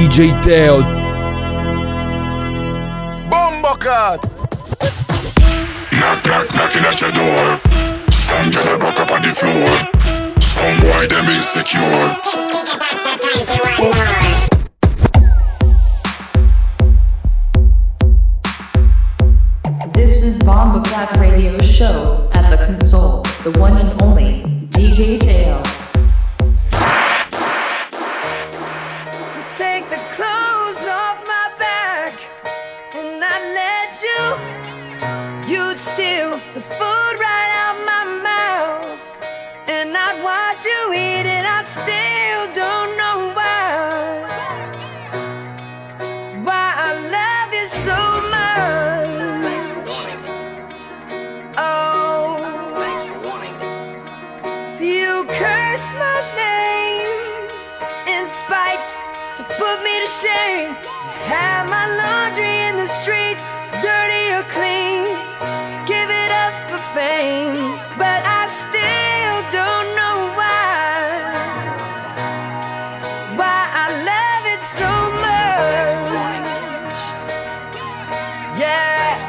DJ Teo. Bombocat! Knock, knock, knocking at your door. Some girl a buck up on the floor. Some boy them insecure. This is Bombocat Radio Show at the console, the one and only DJ Teo. Take the clothes off my back and I let you'd steal the food right out my mouth and I'd watch you eat it. I still don't know why I love you so much. Oh, you curse my name in spite to put me to shame. Have my laundry in the streets, dirty or clean. Give it up for fame, but I still don't know why I love it so much. Yeah.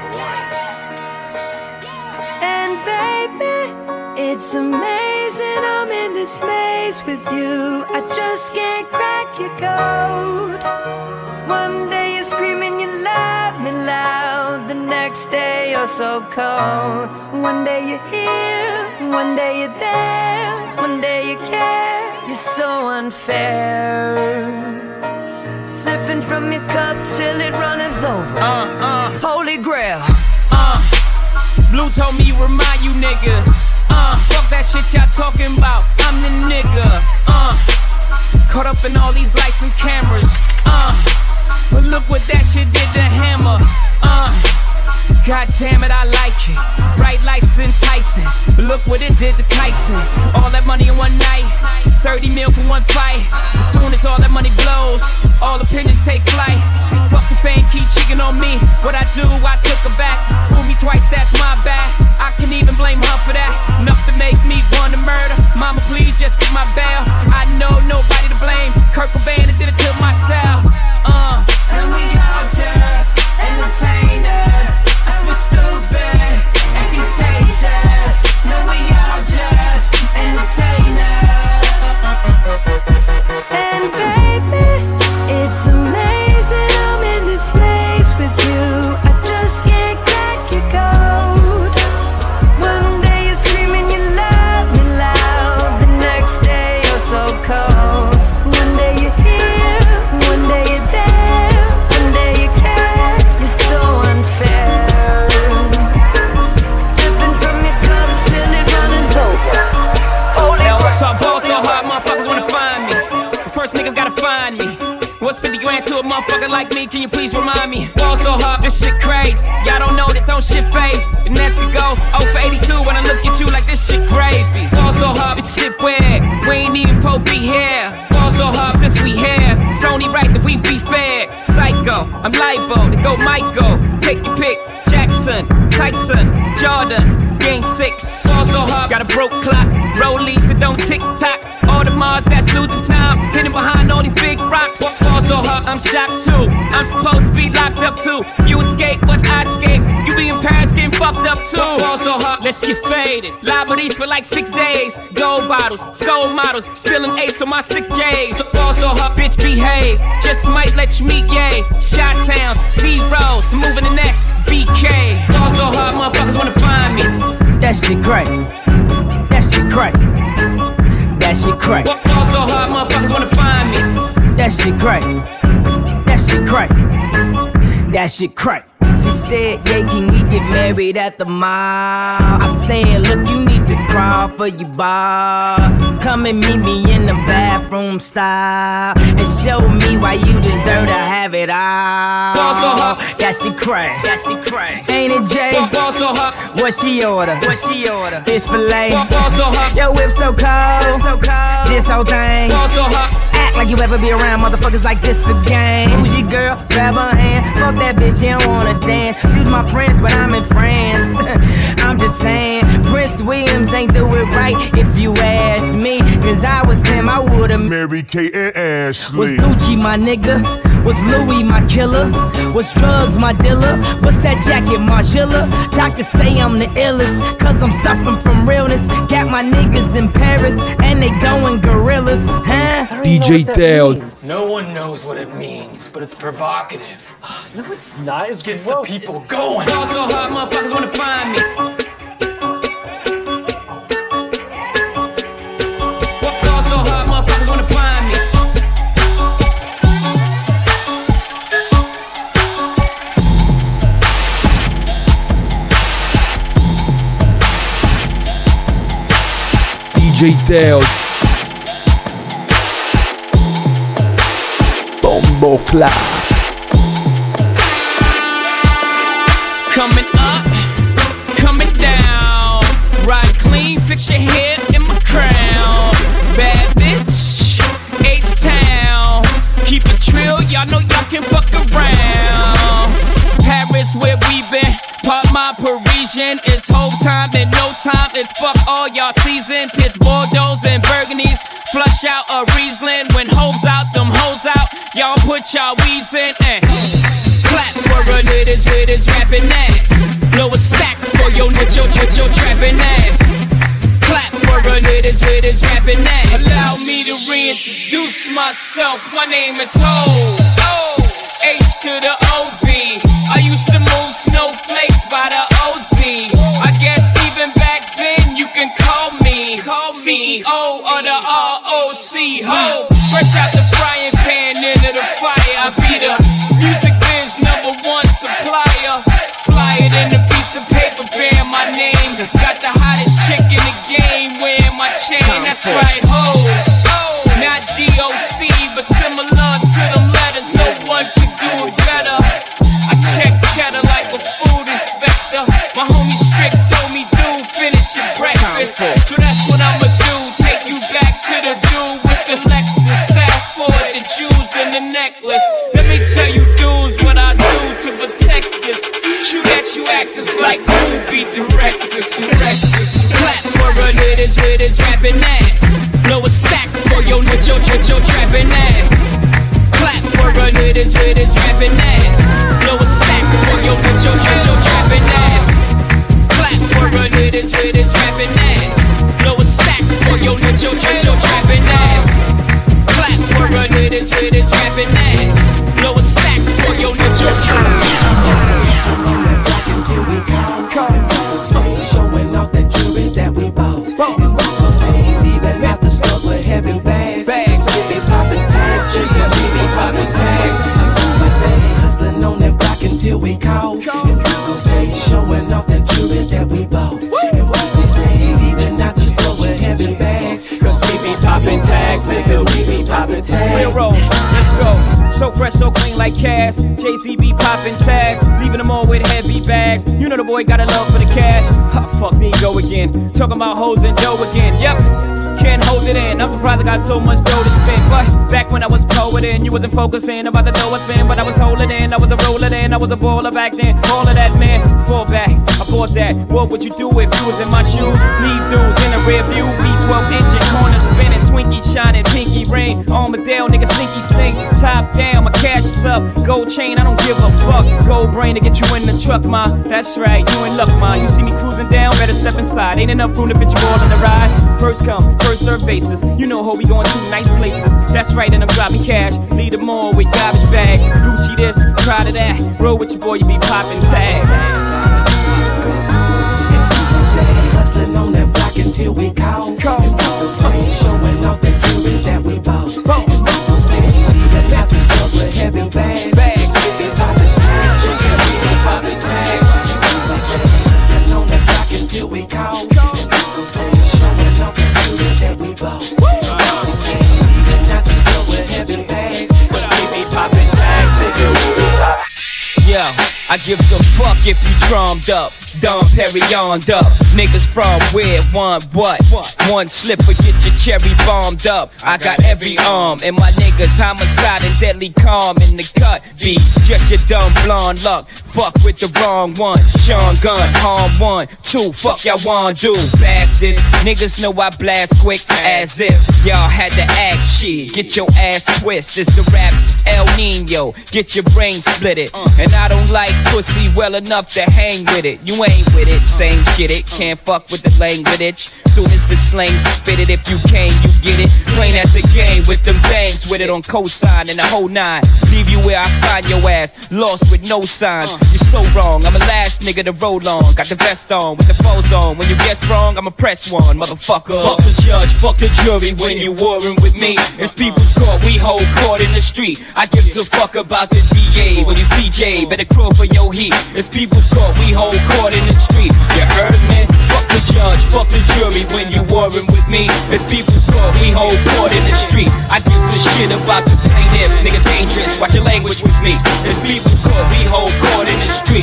And baby, it's amazing I'm in this maze with you. I just can't crack your code. One day you're screaming you love me loud, the next day you're so cold. One day you're here, one day you're there, one day you care. You're so unfair. Sipping from your cup till it runneth over. Holy grail. Blue told me remind you niggas. Fuck that shit y'all talking about. I'm the nigga. Caught up in all these lights and cameras. But look what that shit did to Hammer. God damn it, I like it. Bright lights enticing. But look what it did to Tyson. All that money in one night, 30 mil for one fight. As soon as all that money blows, all opinions take flight. Fuck the fame, keep cheating on me. What I do, I took her back. Fool me twice, that's my bad. I can even blame her for that. Enough to make me want to murder. Mama, please just get my bail. I know nobody to blame. Kurt Cobain did it to myself. And we all just entertainers. We're stupid and contagious. No, we all just entertainers. And baby, it's amazing I'm in this space with you. I just can't crack your code. One day you're screaming you love me loud, the next day you're so cold. One day you're here, one day you're there, one day you care. You're so unfair. Sipping from your cup till it runneth over. So I ball so hard, motherfuckers wanna find me. But first niggas gotta find me. What's 50 grand to a motherfucker like me? Can you please remind me? Ball so hard, this shit crazy. Y'all don't know that don't shit phase. The next could go 0 for 82 when I look at you like this shit gravy. Ball so hard, this shit weird. We ain't even po be here. Ball so hard since we here. It's only right that we be fair. Psycho, I'm liable to go Michael. Take your pick. Jackson, Tyson, Jordan. Game 6, ball so hard, got a broke clock. Rollies that don't tick tock. All the Mars that's losing time, hidden behind all these big rocks. Ball so hard, I'm shocked too. I'm supposed to be locked up too. You escape, but I escape. You be in Paris getting fucked up too. Ball so hard, let's get faded. Liberties for like 6 days. Gold bottles, soul models, spilling ace on my sick days. So ball so hard, bitch behave. Just might let you meet gay. Shot towns, B-rolls, moving the next BK. Ball so hard, motherfuckers wanna find me. That shit crack. That shit crack. That shit crack. Ball so hard, motherfuckers wanna find me. That shit crack. That shit crack. That shit crack. She said, yeah, can we get married at the mall? I said, look, you need to crawl for your bar. Come and meet me in the bathroom style and show me why you deserve to have it all. Ball so hot, that shit crack. That shit crack. Ain't it, Jay? Ball so hot. What she order? What she order? Fish fillet. Ball so hot. Your whip so cold. So cold. This whole thing. Ball so hot. Act like you ever be around motherfuckers like this again. Who's your girl? Grab her hand. Fuck that bitch, she don't wanna dance. She's my friends, but I'm in France. I'm just saying, Prince Williams ain't do it right if you ask me. As I was him, I would've Mary Kate and Ashley. Was Gucci my nigga? Was Louis my killer? Was drugs my dealer? What's that jacket, Margiela? Doctors say I'm the illest, cause I'm suffering from realness. Got my niggas in Paris, and they going gorillas, huh? DJ Teo. No one knows what it means, but it's provocative. No, it's not. It gets the people going. Ball so hard, motherfuckers wanna find me. Ball so hard, motherfuckers wanna find me. DJ Teo. Bombo Clat. Coming up, coming down. Ride clean, fix your hair in my crown. Bad bitch, H-Town. Keep it trill, y'all know y'all can fuck around. Paris, where we been. Pop my Parisian. It's whole time and no time. It's fuck all y'all season. Piss Bordeaux and Burgundies. Flush out a Riesling. When hoes out, them hoes out. Y'all put y'all weaves in and clap for a niggas rapping ass. Blow a stack for your nicho trapping ass. Clap for a niggas rapping ass. Allow me to reintroduce myself. My name is Ho. H to the O-V. I used to move snowflakes by the OZ. I guess even back then you can call me CEO of the ROC. Ho, fresh out the frying pan into the fire. I be the music biz #1 supplier. Fly it in a piece of paper bearing my name. Got the hottest chick in the game wearing my chain. That's right, ho. Not DOC, but similar to them letters. No one can do it better. I check cheddar like a food inspector. My homie Strick told me, dude, finish your breakfast. So that's what I'ma do. Take you back to the dude with the Lexus. Fast forward the jewels and the necklace. Let me tell you, dudes, what I do to protect this. Shoot at you actors like movie directors. Clap for a niggas rapping ass. Blow a stack for your nicho trapping ass. Clap for a niggas rapping ass. Blow a stack for your nicho trapping ass. Clap for a niggas rapping ass. Blow a stack for your nicho trapping ass. Clap for a niggas rapping ass. Blow a stack for your nicho trapping until we come. Showing off that jewelry that we bought. And say leaving out the stores with heavy bags. Baby popping tags, baby popping tags. Hustling on that block until we call. And say showing off that jewelry that we bought. And say leaving out the stores with heavy bags. Cause we be popping tags, baby, we be popping tags. Real rolls, let's go. So fresh, so clean like cash. Jay-Z be popping tags, leaving them all with heavy bags. You know the boy got a love for the cash. Ha, fuck, there you go again. Talking about hoes and dough again. Yep, can't hold it in. I'm surprised I got so much dough to spend. But back when I was poeting, you wasn't focusing about the dough I spend. But I was holding in, I was a roller then, I was a baller back then. All of that, man, fall back. I bought that. What would you do if you was in my shoes? Leave dudes in the rear view. V12 engine, corner spinning, Twinkie shining, pinky ring. Armadale, nigga, sneaky stink. Top down, my cash is up. Gold chain, I don't give a fuck. Gold brain to get you in the truck, ma. That's right, you in luck, ma. You see me cruising down, better step inside. Ain't enough room to fit you all on the ride. First come, first serve basis. You know how we going to nice places. That's right, and I'm dropping cash. Lead them all with garbage bags. Gucci this, proud of that. Roll with your boy, you be popping tags. Hustling on that block until we call. Showing off the jewelry that we bought. Leaving out the stores with heavy bags. Baby popping tags, baby popping tags. Hustling on that block until we call. Showing off the jewelry that we bought. Leaving out the stores with heavy bags. Baby popping tags, baby popping tags. Yo, I give a fuck if you drummed up. Dom Perignon up. Niggas from where, one what? One slip or get your cherry bombed up. I got every arm, and my niggas homicide and deadly calm in the cut. Be just your dumb blonde luck. Fuck with the wrong one. Sean Gunn, harm 1, 2. Fuck y'all wanna do, bastards. Niggas know I blast quick as if y'all had to act shit. Get your ass twist. It's the raps El Nino. Get your brain split it. And I don't like pussy well enough to hang with it. You ain't with it, same shit it. Can't fuck with the language. Soon as the slang's fitted, if you can, you get it. Plain as the game with them bangs with it on cosign and the whole 9. Leave you where I find your ass, lost with no signs. You're so wrong, I'm the last nigga to roll on. Got the vest on with the foes on. When you guess wrong, I'ma press one, motherfucker. Fuck the judge, fuck the jury when you warring with me. It's people's court, we hold court in the street. I gives a fuck about the DA. When you CJ, better crawl for your heat. It's people's court, we hold court in the street. You heard me? Fuck the judge, fuck the jury when you warring with me. It's people's court, we hold court in the street. I gives a shit about the plaintiff, nigga dangerous. Watch your language with me. It's people's court, we hold court in the street.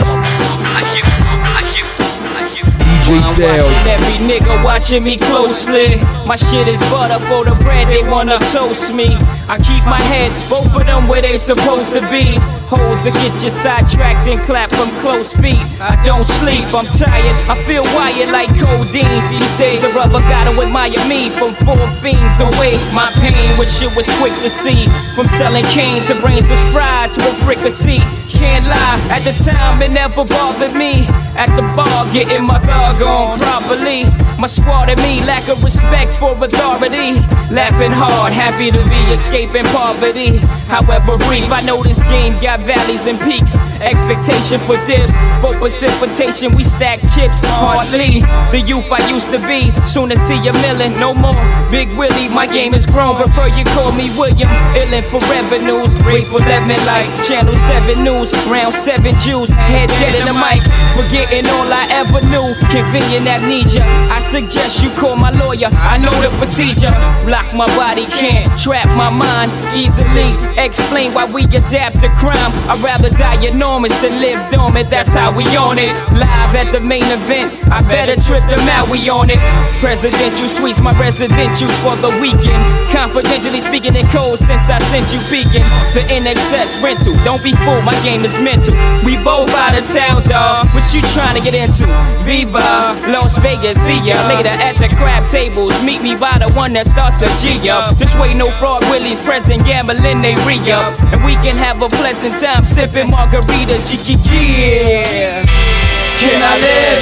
I'm watching every nigga watching me closely. My shit is butter for the bread, they wanna toast me. I keep my head, both of them where they supposed to be. Holes that get you sidetracked and clap from close feet. I don't sleep, I'm tired, I feel wired like codeine. These days a rubber gotta admire me from 4 fiends away. My pain, when shit was quick to see. From selling cane to brains was fried to a fricassee. Can't lie, at the time it never bothered me. At the bar, getting my thug on properly. My squad and me lack of respect for authority. Laughing hard, happy to be escaping poverty. However brief, I know this game got valleys and peaks. Expectation for dips, for precipitation, we stack chips hardly. The youth I used to be, soon to see a million, no more. Big Willie, my game is grown, prefer you call me William. Illin' for revenues, grateful lemon like Channel 7 News. Round 7 Jews, head dead in the mic, forgetting all I ever knew. Convenient amnesia, I suggest you call my lawyer. I know the procedure. Block my body, can't trap my mind easily. Explain why we adapt to crime. I'd rather die enormous than live dormant. That's how we on it. Live at the main event, I better trip them out. We on it. Presidential suites, my residential for the weekend. Confidentially speaking in code since I sent you peeking. The NXS rental, don't be fooled, my game is mental. We both out of town, dawg. What you trying to get into? Viva, Las Vegas, see ya later at the crab tables. Meet me by the one that starts a G up. This way no fraud willies present, gambling they re-up. And we can have a pleasant time sipping margaritas, yeah. Can I live?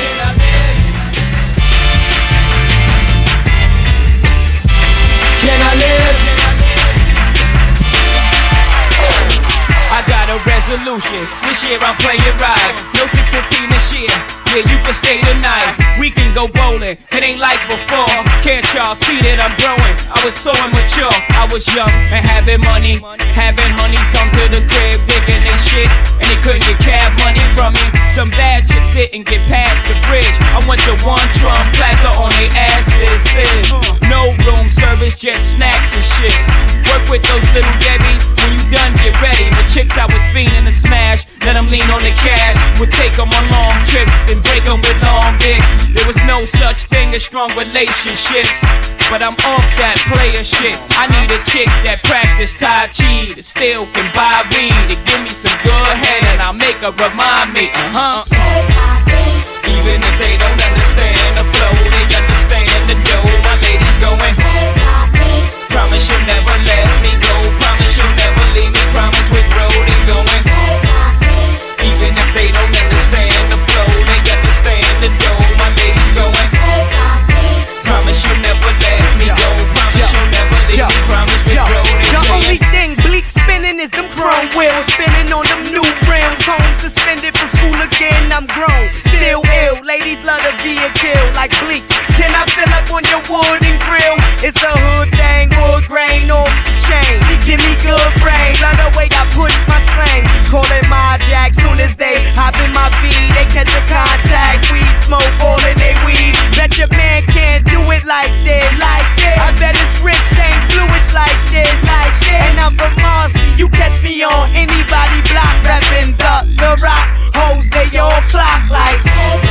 Can I live? I got a resolution, this year I'm playing right. No 615 this year, yeah, you can stay tonight. We can go bowling, it ain't like before. Can't y'all see that I'm growing? I was so immature, I was young and having money. Having honeys come to the crib, digging they shit, and they couldn't get cab money from me. Some bad chicks didn't get past the bridge. I went to One Trump Plaza on they asses. No room service, just snacks and shit. Work with those little Debbies, when you done get ready. The chicks I was fiending to smash, let them lean on the cash. Would take them on long trips, then break them with long dick. There was no such thing as strong relationships, but I'm off that player shit. I need a chick that practice Tai Chi, that still can buy weed, to give me some good head, and I'll make her remind me, even if they don't understand the flow, they understand the dough. My lady's going, promise you'll never let me go, promise you'll never leave me, promise with road and going. Even if they don't understand the flow, they understand the dough. My lady's going, promise you'll never let me go, promise you'll never leave me, promise with road and the only thing bleak spinning is them chrome wheels, spinning on them new rims. Home suspended from school again, I'm grown, still ill. Ladies love to be a kill like bleak. Can I fill up on your wood and grill? It's a hood thing, wood grain off the chain. She give me good brain, love the way I puts my slang. Call it my jack, soon as they hop in my V, they catch a contact. Weed smoke all in they weed. Bet your man can't do it like this, like this. I bet his wrist ain't bluish like this, like this. And I'm from Marcy, you catch me on anybody block, reppin' the rock. Hoes, they all clock like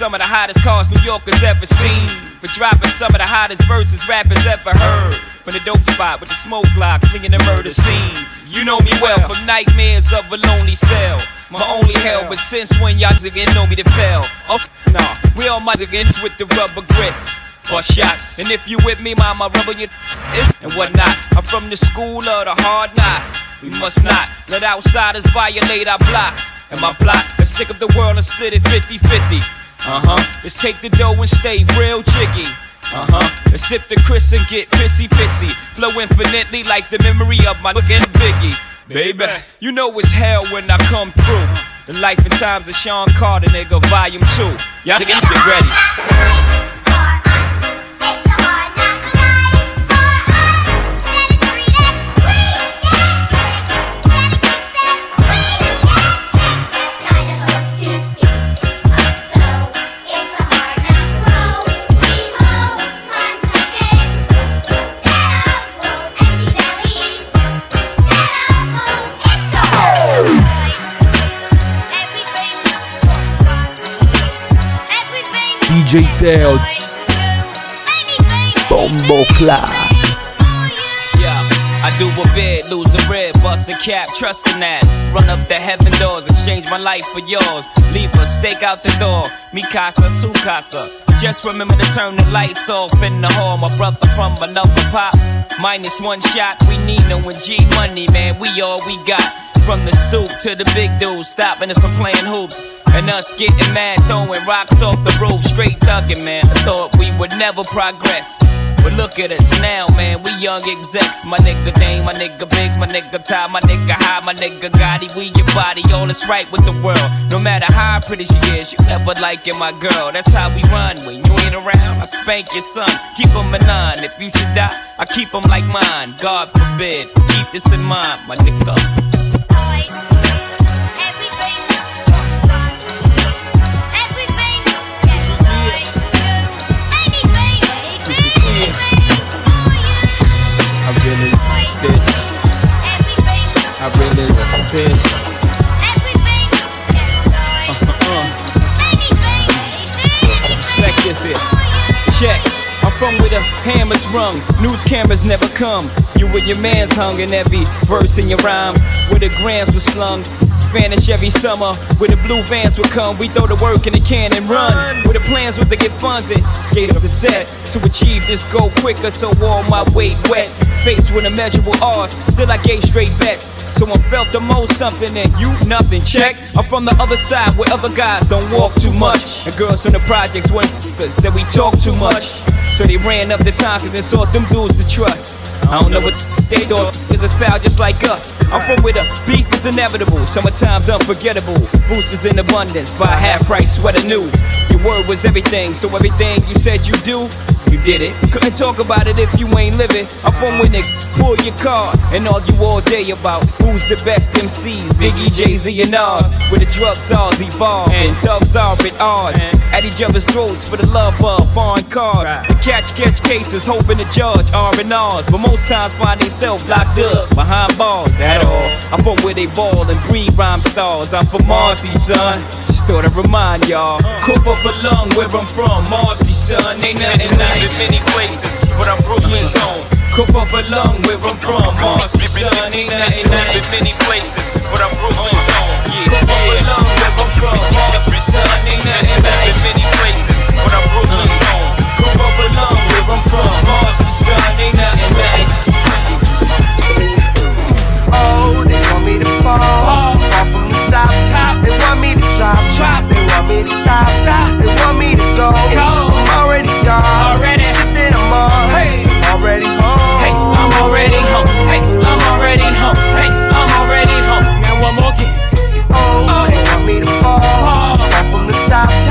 some of the hottest cars New Yorkers ever seen. For dropping some of the hottest verses rappers ever heard. From the dope spot with the smoke blocks, flinging the murder scene. You know me well from nightmares of a lonely cell. My only hell, but since when y'all again know me to fail? Oh, nah, we all might again with the rubber grips. Bust shots, and if you with me, mama, rubber your and whatnot. I'm from the school of the hard knocks. We must not let outsiders violate our blocks. And my plot, let's stick up the world and split it 50-50. Let's take the dough and stay real jiggy. Let's sip the Chris and get pissy. Flow infinitely like the memory of my looking Biggie. Baby, you know it's hell when I come through. The life and times of Sean Carter, nigga, volume 2. Y'all niggas get ready. DJ Teo, Bombo Clat. Yeah, I do a bid, lose a rib, bust a cap, trusting that. Run up the heaven doors, exchange my life for yours. Leave a stake out the door, mi casa, su casa. Just remember to turn the lights off in the hall. My brother from another pop, minus one shot. We need no G money, man, we all we got. From the stoop to the big dudes, stopping us from playing hoops. And us getting mad, throwing rocks off the roof, straight thugging, man. I thought we would never progress, but look at us now, man, we young execs. My nigga Dame, my nigga Biggs, my nigga Ty, my nigga High, my nigga Gotti. We your body, all is right with the world. No matter how pretty she is, you never liking my girl. That's how we run, when you ain't around, I spank your son. Keep him a 9, if you should die, I keep him like mine. God forbid, keep this in mind, my nigga. I realize this. Respect this here. Check. I'm from where the hammers rung, news cameras never come. You and your mans hung in every verse in your rhyme, where the grams were slung. Spanish every summer, where the blue vans would come. We throw the work in the can and run, where the plans were to get funded. Skate up the set to achieve this goal quicker, so all my weight wet. Faced with immeasurable odds, still I gave straight bets. Someone felt the most something and you nothing. Check, I'm from the other side where other guys don't walk too much. And girls from the projects went said we talk too much. So they ran up the time cause they sought them dudes to trust. I don't know what they thought, cause it's foul just like us. I'm from where the beef is inevitable, summertime's unforgettable. Boosters in abundance, buy half price sweater new. Your word was everything, so everything you said you do, you did it. Couldn't talk about it if you ain't living. I'm from where niggas pull your car and argue all day about who's the best MCs, Biggie, Jay-Z and Nas. Where the drug czars evolve and thugs are at odds, at each other's throats for the love of foreign cars. The catch cases, hoping the judge R&Rs, but most times find themselves locked up behind bars, that all. I'm from where they ball and breed rhyme stars. I'm from Marcy, son, just thought I'd remind y'all. Cough up a lung where I'm from, Marcy, son. Ain't nothing nice in many places, but I'm Brooklyn's home. Cough up a lung where I'm from, Marcy, son. Ain't nothing nice in many places, but I'm Brooklyn's home. Cough up a lung where I'm from, Marcy, son. Ain't nothing nice in many places, but I'm Brooklyn's home. Cough up a lung where I'm from, Marcy, son. Ain't nothing nice. Oh, they want me to fall from the top. They want me to drop. They want me to stop. They want me to go. I'm already gone. Shit that I'm on. I'm already home. Hey, I'm already home. Hey, I'm already home. Hey, I'm already home. Now one more game. Oh, they want me to fall from the top.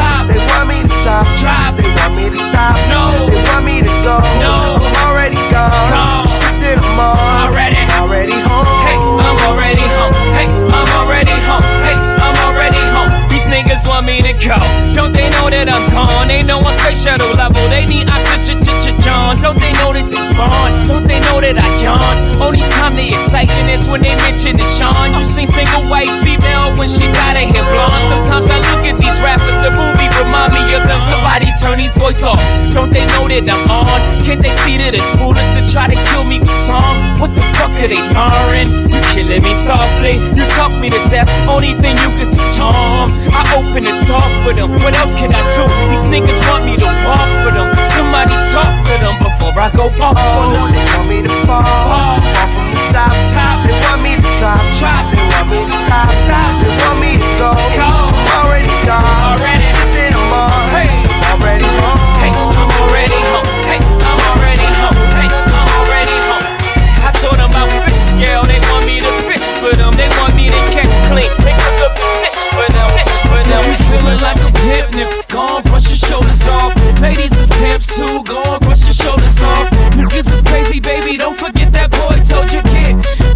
on. Can't they see that it's foolish to try to kill me with songs? What the fuck are they learning? You killing me softly, you talk me to death. Only thing you could do, Tom. I open the door for them. What else can I do? These niggas want me to walk for them. Somebody talk to them before I go off on them. They want me to fall from the top. They want me to drop. They want me to stop. They want me to go. I'm already gone. Sitting on. I'm already home. Hey, I'm already home. Hey, I'm already home. Hey, I'm already home. I told them about fish scale. They want me to fish for them. They want me to catch clean. They cook up the dish for them. Dish for them. If you feeling like a pimp, nigga, go on, brush your shoulders off. Ladies is pimps too. Go on, brush your shoulders off. Niggas is crazy, baby. Don't forget that boy told you, kid.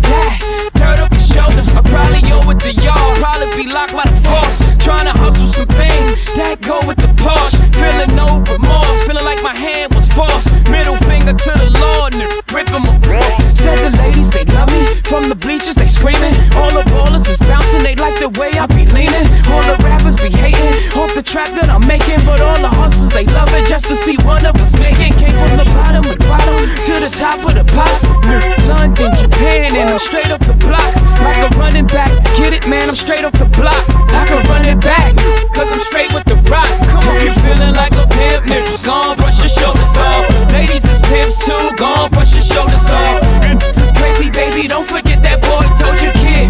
Turn up your shoulders. I probably owe it to y'all. Probably be locked by the force. Trying to hustle some things that go with the Porsche. Feeling no remorse. Feeling like my hand was forced. Middle finger to the Lord, nigga, gripping my balls. Said the ladies, they love me. From the bleachers, they screaming. All the ballers is bouncing. They like the way I be leaning. All the rappers be hating. Off the trap that I'm making. But all the hustlers, they love it just to see one of us making. Came from the bottom of the bottom to the top of the pops. London, Japan, and I'm straight off the block. Like a running back. Get it, man, I'm straight off the block. I can run it back, cause I'm straight with the rock. Come on, if you feeling like a pimp, nigga, go on, brush your shoulders off. Ladies is pimps too, go on, brush your shoulders off. This is crazy, baby, don't forget that boy told you, kid.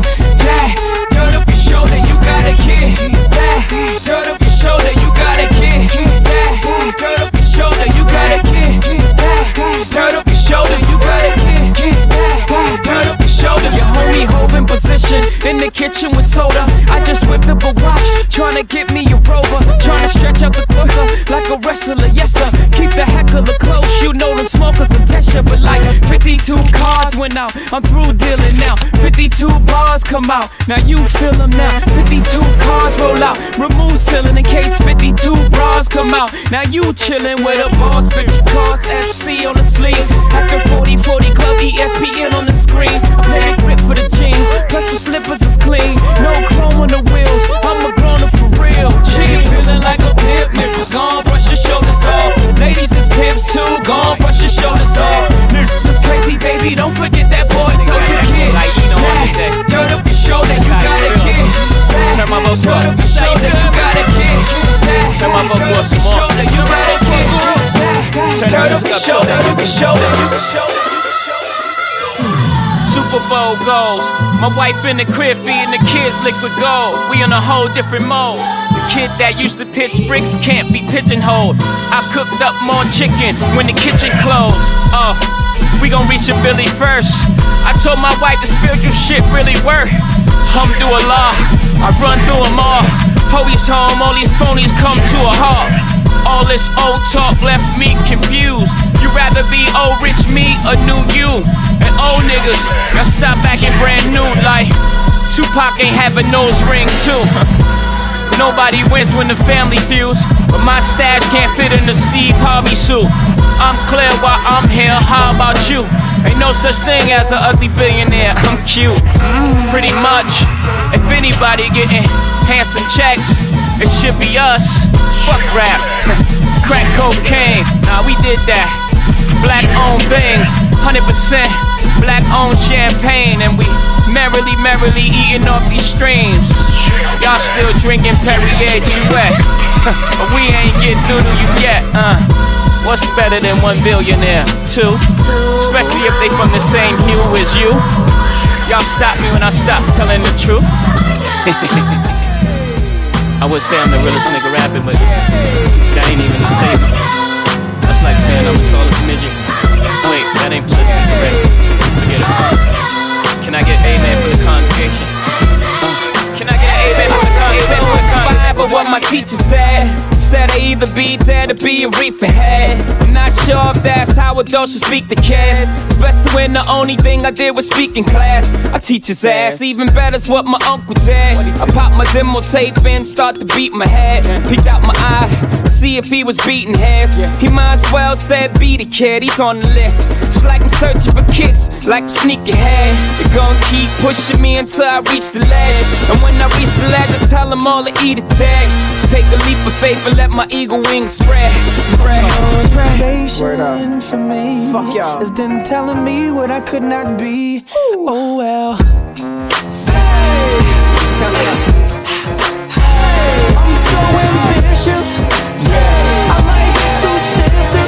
Dirt up your shoulder, you got a kid. Dirt up your shoulder, you got a kid. Dirt up your shoulder, you got a kid. Dirt up your shoulder, you got a kid. Dirt up your shoulder. Your homie holding position in the kitchen with soda. I just whipped up a watch, trying to get me a Rover. Trying to stretch out the booker like a wrestler, yes sir. Keep the heckler close, you know them smokers a test you. But like 52 cards went out, I'm through dealing now. 52 bars come out, now you feel them now. 52 cars roll out, remove ceiling in case 52 bras come out. Now you chillin' with a boss, big cards FC on the sleeve. At the 40-40 club, ESPN on the screen. I play the grip for the jeans, plus the slippers is clean. No chrome on the wheels, I'm a grown-up for real. G, feeling like a pimp, nigga, go on, brush your shoulders off. Ladies is pimps too, go on, brush your shoulders off. Niggas is crazy, baby, don't forget that boy told you, kid. Turn up your shoulder, you got a kid. Turn my vocal up. Turn up your shoulder, you got a kid. Turn my vocal up some more. You got a kid. Turn up your shoulder, you can shoulder, you can shoulder. Super Bowl goals. My wife in the crib feeding the kids liquid gold. We in a whole different mode. The kid that used to pitch bricks can't be pigeonholed. I cooked up more chicken when the kitchen closed. We gon' reach a Billy first. I told my wife the spiritual shit really work. Alhamdulillah, I run through them all. Hoey's home, all these phonies come to a halt. All this old talk left me confused. You rather be old rich me or new you? And old niggas, y'all stop acting brand new like Tupac ain't have a nose ring too. Nobody wins when the family feuds, but my stash can't fit in the Steve Harvey suit. I'm clear while I'm here, how about you? Ain't no such thing as an ugly billionaire, I'm cute. Pretty much, if anybody getting handsome checks, it should be us. Fuck rap, crack cocaine, nah we did that. Black owned things, 100% black owned champagne. And we merrily eating off these streams. Y'all still drinking Perrier Jouet, but we ain't get through to you yet. What's better than one billionaire? Two, especially if they from the same hue as you. Y'all stop me when I stop telling the truth. I would say I'm the realest nigga rapping, but that ain't even a statement. That's like saying I'm the tallest midget. Wait, that ain't politically correct. Forget it. Can I get amen for the congregation? Can I get amen for the congregation? But what my teacher said I either be dead or be a reefer head. I'm not sure if that's how adults should speak to kids, especially when the only thing I did was speak in class. I teach his ass, even better's what my uncle did. I pop my demo tape in, start to beat my head. Peeked out my eye, see if he was beating heads. He might as well said be the kid, he's on the list. It's like I'm searching for kids, like sneakerhead. They're gonna keep pushing me until I reach the ledge. And when I reach the ledge, I tell them all to eat a tag. Take a leap of faith and let my eagle wings spread. Motivation for me. Fuck y'all. Is them telling me what I could not be. Ooh. Oh well. Hey. I'm so ambitious. Yeah. I'm like two sisters.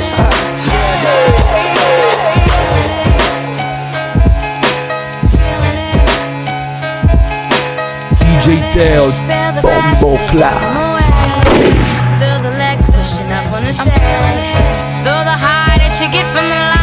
DJ Teo, Bombo Clap. Feel the legs pushing up on the stage. Feel the high that you get from the line.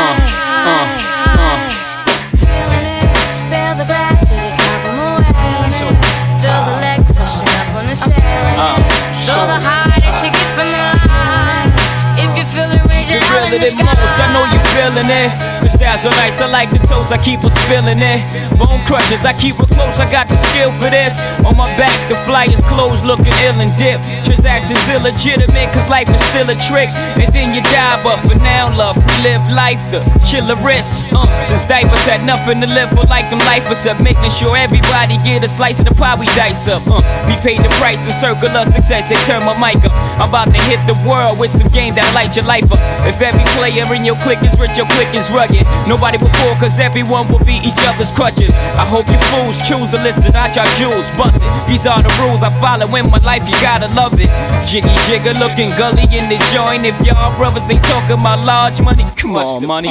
Feel the glass to the top of my way. Feel the legs pushing up on the stage. Feel the high that you get from the line. If you feel it, raise your hand in the sky. I know you feeling it. Crystals are nice, I like the toes, I keep her spilling it. Bone crushes, I keep her close, I got the skill for this. On my back, the flyers closed, looking ill and dip. Transactions illegitimate, cause life is still a trick. And then you die, but for now, love, we live life, the chiller risk. Since diapers had nothing to live for, like them lifers up. Making sure everybody get a slice of the pie we dice up. We paid the price to circle us success, they turn my mic up. I'm about to hit the world with some game that light your life up. If every player in your clique is rich, your clique is rugged. Nobody will fall, cause everyone will be each other's crutches. I hope you fools choose to listen, not your jewels busted. These are the rules I follow in my life, you gotta love it. Jiggy jigger looking gully in the joint. If y'all brothers ain't talking about large money, come on, money.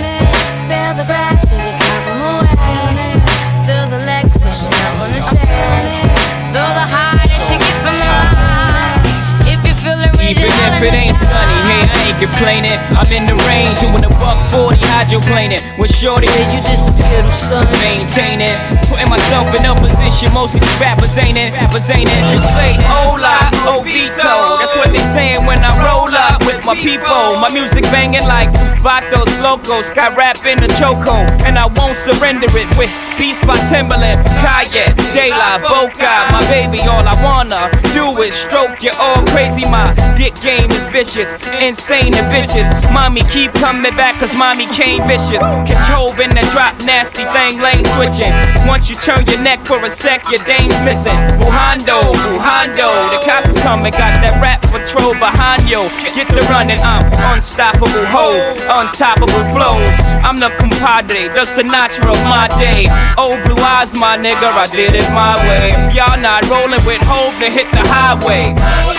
Feel the glass to the top of my way. Feel the legs pushing up on the stage. Feel the high that you get from the line. If you feel it, raise even your hand if in it the ain't sky. sunny, hey, I ain't complaining. I'm in the rain, doing a $140 hydroplaning. With shorty, hey, you disappeared, son. Maintaining, putting myself in a position. Most of these rappers ain't it. You say hola, Ovito. That's what they saying when I roll up with my people. My music banging like Vatos Locos. Got rap in the choco, and I won't surrender it. With beats by Timberland, Kanye, De La Boca. My baby, all I wanna do is stroke you all crazy. My dick game is vicious, insane and bitches. Mommy keep coming back cause mommy came vicious. Control in the drop, nasty thing, lane switching. Once you turn your neck for a sec, your dame's missing. Bujando, the cops is coming, got that rap patrol behind you. Get the running, I'm unstoppable ho, untoppable flows. I'm the compadre, the Sinatra of my day. Old blue eyes, my nigga, I did it my way. Y'all not rolling with hope to hit the highway.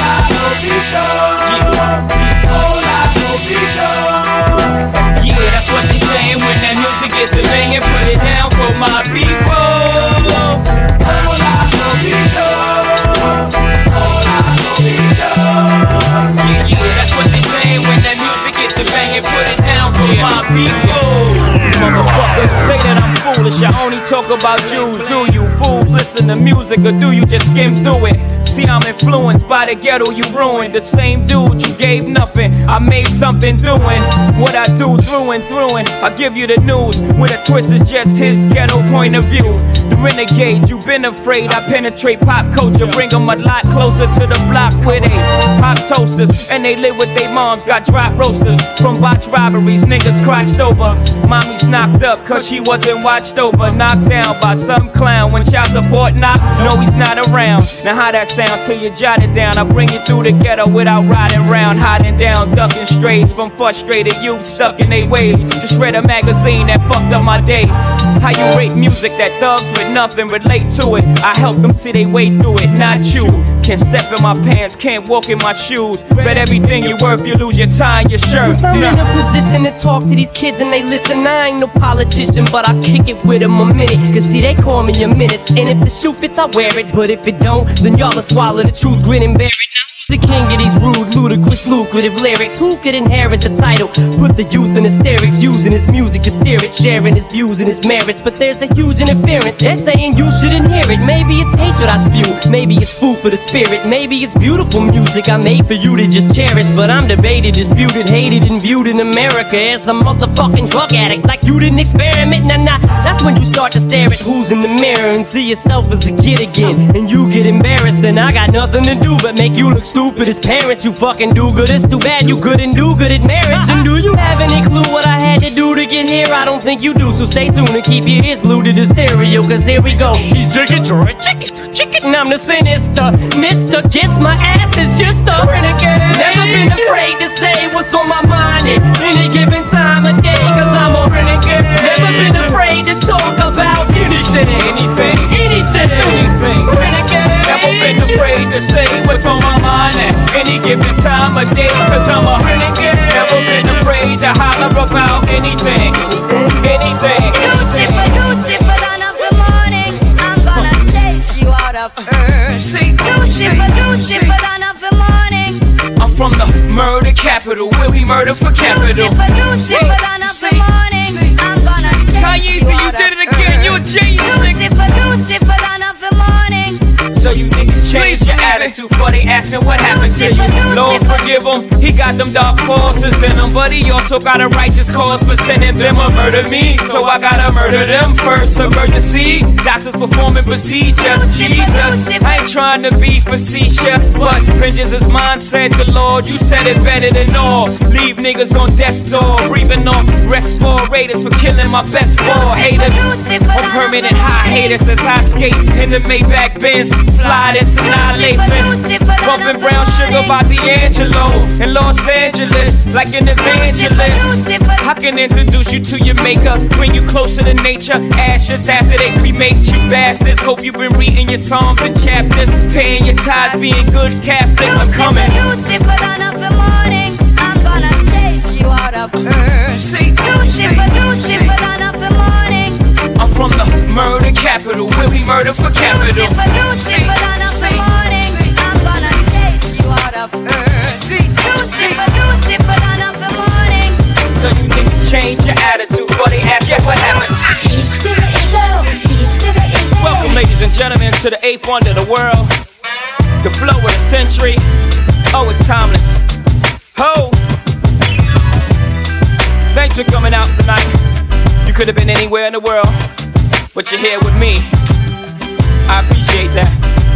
Yeah, that's what they saying when that music get the banging. Put it down for my people. Yeah, that's what they saying when that music get the banging. Put it down for my people. Motherfuckers say that I'm foolish, I only talk about Jews. Do you fools listen to music or do you just skim through it? See, I'm influenced by the ghetto you ruined. The same dude you gave nothing, I made something doing what I do through and through. And I give you the news with a twist is just his ghetto point of view. The renegade, you've been afraid. I penetrate pop culture, bring them a lot closer to the block where they pop toasters and they live with their moms. Got drop roasters from botch robberies, niggas crotched over. Mommy's knocked up cause she wasn't watched over. Knocked down by some clown when child support knock. No, he's not around. Now how that sound till you jot it down? I bring you through the ghetto without riding round, hiding down, ducking strays from frustrated youth stuck in their ways. Just read a magazine that fucked up my day. How you rate music that thugs with nothing relate to it? I help them see they way through it, not you. Can't step in my pants, can't walk in my shoes. Bet everything you worth, you lose your tie and your shirt. Since I'm in a position to talk to these kids and they listen, I ain't no politician, but I kick it with them a minute. Cause see, they call me a menace. And if the shoe fits, I wear it. But if it don't, then y'all will swallow the truth, grin and bear it. Now who's the king of these rude, ludicrous, lucrative lyrics? Who could inherit the title? Put the youth in hysterics, using his music to steer it, sharing his views and his merits. But there's a huge interference. They're saying you shouldn't hear it. Maybe it's hatred I spew, maybe it's food for the spirit, maybe it's beautiful music I made for you to just cherish. But I'm debated, disputed, hated, and viewed in America as a motherfucking drug addict. Like you didn't experiment, nah. That's when you start to stare at who's in the mirror and see yourself as a kid again. And you get embarrassed, then I got nothing to do but make you look stupid as parents. You fucking do good, it's too bad you couldn't do good at marriage. And do you have any clue what I had to do to get here? I don't think you do, so stay tuned and keep your ears glued to the stereo, cause here we go. He's chicken, chicken, chicken, chicken. getting, I'm the sinister. Mr. Kiss my ass is just a renegade. Never been afraid to say what's on my mind at any given time of day, cause I'm a renegade. Never been afraid to talk about anything. Renegade. Never been afraid to say what's on my mind at any given time of day, cause I'm a renegade. Never been afraid to holler about anything. Lucifer, dawn of the morning, I'm gonna chase you out of earth. Lucifer, dawn of the morning. I'm from the murder capital, where we murder for capital. Lucifer, dawn of the morning, I'm gonna chase you out of earth. you did it again, you a genius, nigga. Lucifer, dawn of the morning. So you niggas change your attitude for they asking what happened to you. Lord forgive him, he got them dark forces in him, but he also got a righteous cause for sending them to murder me. So I gotta murder them first. Emergency, doctors performing procedures. Jesus, I ain't trying to be facetious, but vengeance is mine, said the Lord. You said it better than all. Leave niggas on death's door, breathing off respirators for killing my best ball haters. On permanent high haters as I skate in the Maybach Benz. Fly this annihilate, bumping brown sugar by D'Angelo in Los Angeles, like an evangelist. I can introduce you to your maker, bring you closer to nature. Ashes after they cremate you bastards. Hope you've been reading your psalms and chapters, paying your tithes, being good Catholics. I'm coming. Lucifer, dawn of the morning, I'm gonna chase you out of earth. Lucifer, dawn of the morning. I'm from the murder capital, where we murder for capital. Lucifer, dawn of the morning, I'm gonna chase you out of earth. Lucifer, dawn of the morning. So you niggas change your attitude before they ask you what happened. Welcome, ladies and gentlemen, to the 8th wonder of the world, the flow of the century. Oh, it's timeless. Ho! Thanks for coming out tonight. You could have been anywhere in the world, but you're here with me. I appreciate that.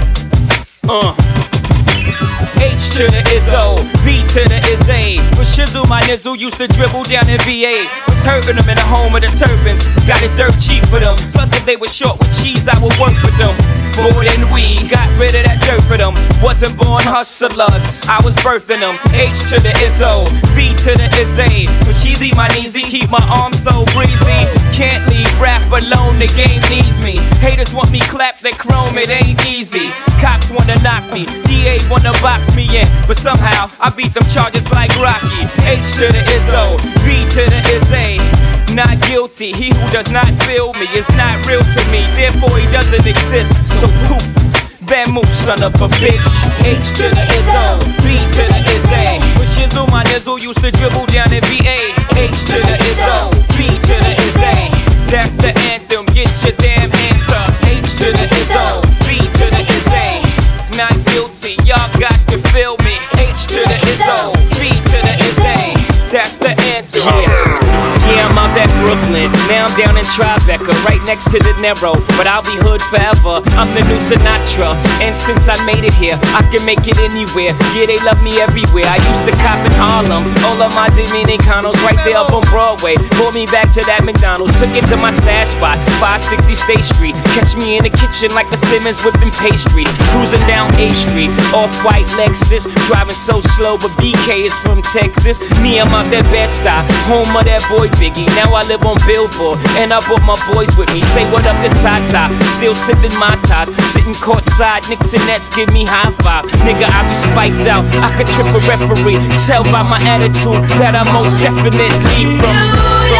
H to the Izzo, V to the Izzy. For shizzle, my nizzle used to dribble down in VA. Was hurting them in the home of the turbans. Got it dirt cheap for them. Plus, if they were short with cheese, I would work with them. More than we got rid of that dirt for them. Wasn't born hustlers, I was birthing them. H to the Izzo, V to the Izzy. For cheesy, my kneesy, keep my arms so breezy. Can't leave rap alone, the game needs me. Haters want me clap that chrome, it ain't easy. Cops wanna knock me, DA wanna box me in, but somehow I beat them charges like Rocky. H to the Izzo, V to the Izzy. Not guilty, he who does not feel me is not real to me, therefore he doesn't exist. So poof, Van move, son of a bitch. H to the Izzo, V to the Izzy. With shizzle, my nizzle used to dribble down in VA. H to the Izzo, V to the Izzy. That's the anthem, get your damn hands up. H to the Izzo, V to the Izzy. Not guilty, y'all got to feel me. H to the Izzo, V to the Izzy. That's the anthem. Yeah, I'm out at Brooklyn, now I'm down in Tribeca, right next to the Narrow, but I'll be hood forever, I'm the new Sinatra, and since I made it here, I can make it anywhere, yeah, they love me everywhere, I used to cop in Harlem, all of my Dominicanos right there up on Broadway, pulled me back to that McDonald's, took it to my stash spot, 560 State Street, catch me in the kitchen like a Simmons whipping pastry, cruising down A Street, off-white Lexus, driving so slow, but BK is from Texas, me, I'm out that Bed-Stuy, home of that boy Biggie, now I live on Billboard, and I brought my boys with me. Say what up to Tata, still sipping my ties, sitting courtside, Knicks and Nets give me high five. Nigga, I be spiked out, I could trip a referee. Tell by my attitude that I most definitely from.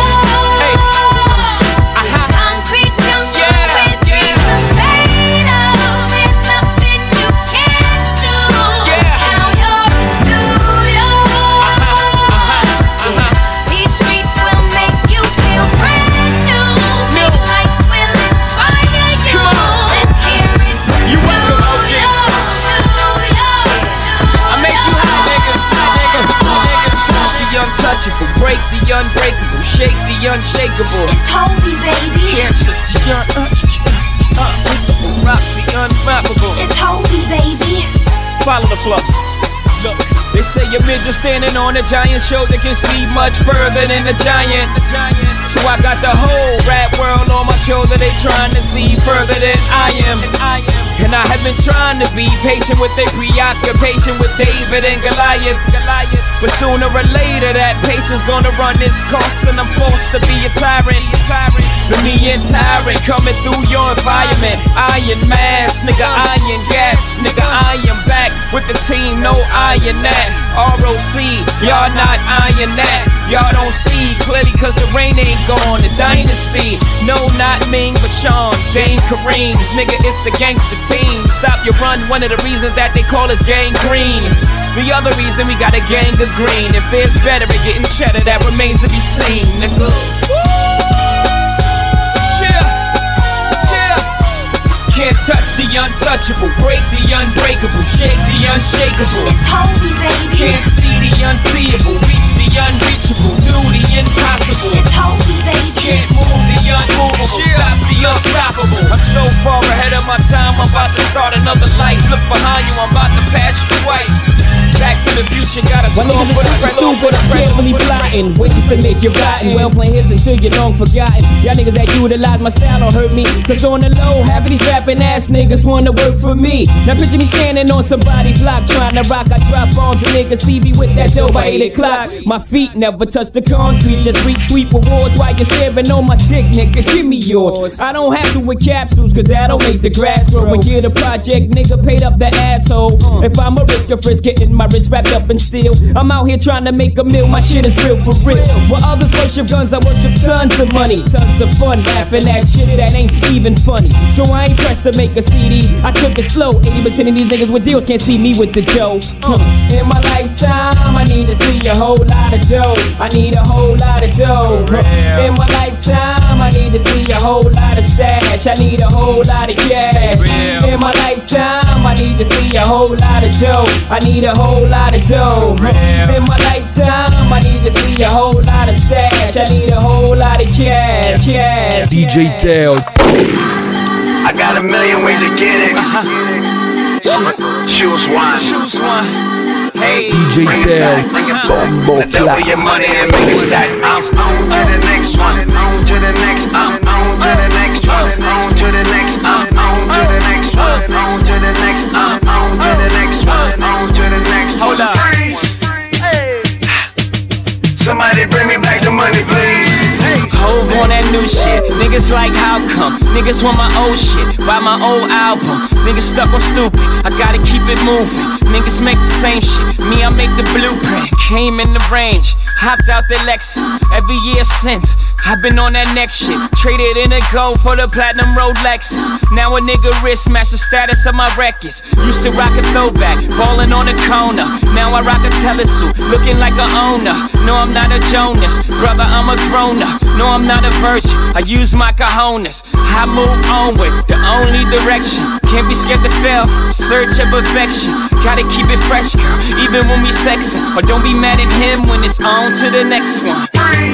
Break the unbreakable, shake the unshakable. It's holy, baby. Cancer, rock the unflappable. It's holy, baby. Follow the flow. Look, they say your midget standing on a giant shoulder can see much further than a giant. So I got the whole rap world on my shoulder. They trying to see further than I am. And I have been trying to be patient with their preoccupation with David and Goliath. But sooner or later that patience gonna run its course, and I'm forced to be a tyrant. The me and tyrant coming through your environment. Iron mask, nigga, iron gas, nigga, I am back with the team, no iron that. ROC, y'all not iron that. Y'all don't see clearly cause the rain ain't gone. The dynasty, no not Ming but Sean's, Dame Kareem's. Nigga, it's the gangster team. Stop your run, one of the reasons that they call us gang green. The other reason we got a gang of green. If it's better at getting cheddar, that remains to be seen, nigga. Can't touch the untouchable, break the unbreakable, shake the unshakable. It's holy, baby. Can't see the unseeable, reach the unreachable, do the impossible. It's holy, baby. Can't move the unmovable, stop the unstoppable. I'm so far ahead of my time, I'm about to start another life. Look behind you, I'm about to pass you twice. Back to the future, gotta slow for the slow for the really plotting, waiting to make you rotten. Well, playing hits until you're long forgotten. Y'all niggas that utilize my style don't hurt me. Cause on the low, half of these rapping ass niggas wanna work for me. Now picture me standing on somebody's block trying to rock. I drop bombs and niggas see me with that dough by 8 o'clock. My feet never touch the concrete, just reap sweet rewards while you're staring on my dick, nigga. Give me yours. I don't have to with capsules, cause that'll make the grass grow. And get a project, nigga, paid up the asshole. If I'm a risk of frisk, getting my wrist wrapped up in steel. I'm out here trying to make a meal, my shit is real for real. While others worship guns, I worship tons of money. Tons of fun, laughing at shit that ain't even funny. So I ain't pressed to make a CD, I took it slow. 80% of these niggas with deals can't see me with the dough. In my lifetime, I need to see a whole lot of dough. I need a whole lot of dough. In my lifetime, I need to see a whole lot of stash. I need a whole lot of cash. In my lifetime, I need to see a whole lot of dough. I need a whole lot of dough. In my lifetime, I need to see a whole lot of stash. I need a whole lot of cash. DJ Teo. I got a million ways to get it. Choose one. Hey, DJ Teo. Bombo double your money and make it stack. I'm on to the next one. On to the next. I'm on to the next one. On to the next. I'm on to the next one. On to the next. I'm on to the next one. On to the next. Hold up. Somebody bring me back the money, please. Hove on that new shit. Niggas like how come? Niggas want my old shit. Buy my old album. Niggas stuck on stupid. I gotta keep it moving. Niggas make the same shit. Me, I make the blueprint. Came in the range. Hopped out the Lexus. Every year since, I've been on that next shit. Traded in a gold for the platinum Rolexes. Now a nigga wrist match the status of my records. Used to rock a throwback, ballin' on the corner. Now I rock a telesuit, looking like a owner. No, I'm not a Jonas, brother, I'm a grown-up. No, I'm not a virgin, I use my cojones. I move onward, the only direction. Can't be scared to fail, search of perfection. Gotta keep it fresh, girl, even when we sexin'. Or don't be mad at him when it's on to the next one.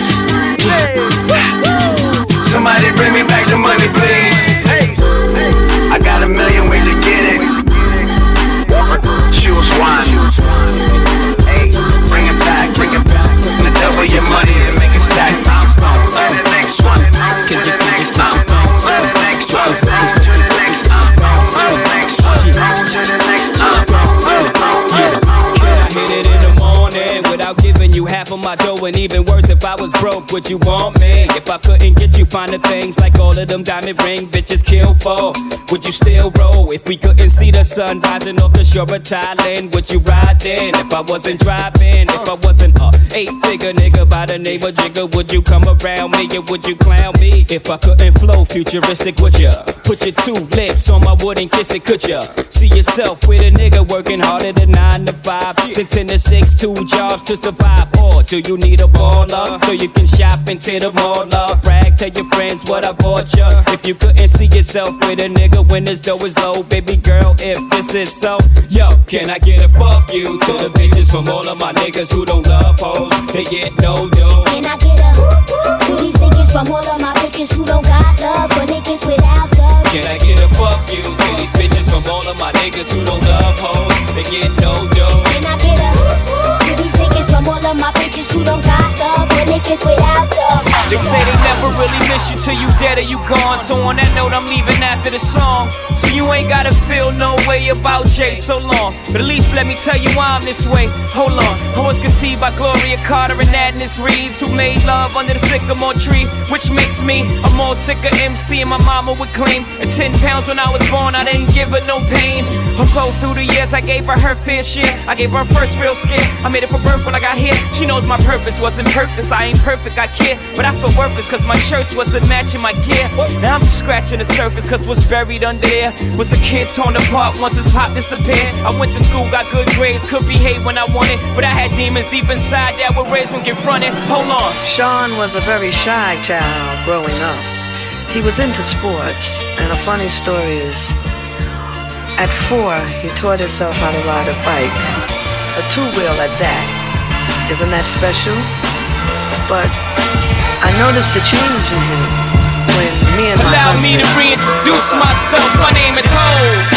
Somebody bring me back the money, please. I got a million ways to get it. Choose one. Hey, bring it back. And double your money and make it stack. On to the next one. On to the next. On to the next one. On to the next. On to the next one. On to the next. Can I hit it in the morning without giving you half of my dough? And even worse, if I was broke, would you want me? If I couldn't get you finer things like all of them diamond ring bitches kill for, would you still roll? If we couldn't see the sun rising off the shore of Thailand, would you ride in? If I wasn't driving, if I wasn't a 8-figure nigga by the name of Jigga, would you come around me or would you clown me? If I couldn't flow futuristic, would ya put your 2 lips on my wood and kiss it, could ya? See yourself with a nigga working harder than 9 to 5, then 10 to 6, 2 jobs to survive? Or do you need a baller so you can shop into the mall? Brag, tell your friends what I bought ya. If you couldn't see yourself with a nigga when his dough is low, baby girl, if this is so, yo, can I get a fuck you to the bitches from all of my niggas who don't love hoes? They get no dough. Can I get a to these niggas from all of my bitches who don't got love for niggas without love? Can I get a fuck you to these bitches from all of my niggas who don't love hoes? They get no dough. Can I get a to these niggas from all of my bitches who don't got love for niggas without love? They say they never never really miss you till you dead or you gone. So on that note, I'm leaving after the song. So you ain't gotta feel no way about Jay so long. But at least let me tell you why I'm this way. Hold on, I was conceived by Gloria Carter and Agnes Reeves, who made love under the sycamore tree, which makes me a more sicker MC. And my mama would claim at 10 pounds when I was born, I didn't give her no pain. Although through the years I gave her fair share, I gave her first real scare. I made it for birth when I got here. She knows my purpose wasn't purpose. I ain't perfect, I care, but I feel worthless cause my shirts wasn't matching my gear. Now I'm just scratching the surface cause what's buried under there was a kid torn apart once his pop disappeared. I went to school, got good grades, could behave when I wanted, but I had demons deep inside that were raised when confronted. Hold on. Sean was a very shy child growing up. He was into sports, and a funny story is, at 4, he taught himself how to ride a bike. A two-wheel at that. Isn't that special? But I noticed the change in him when me and my Allow me to reintroduce myself. My name is Ho,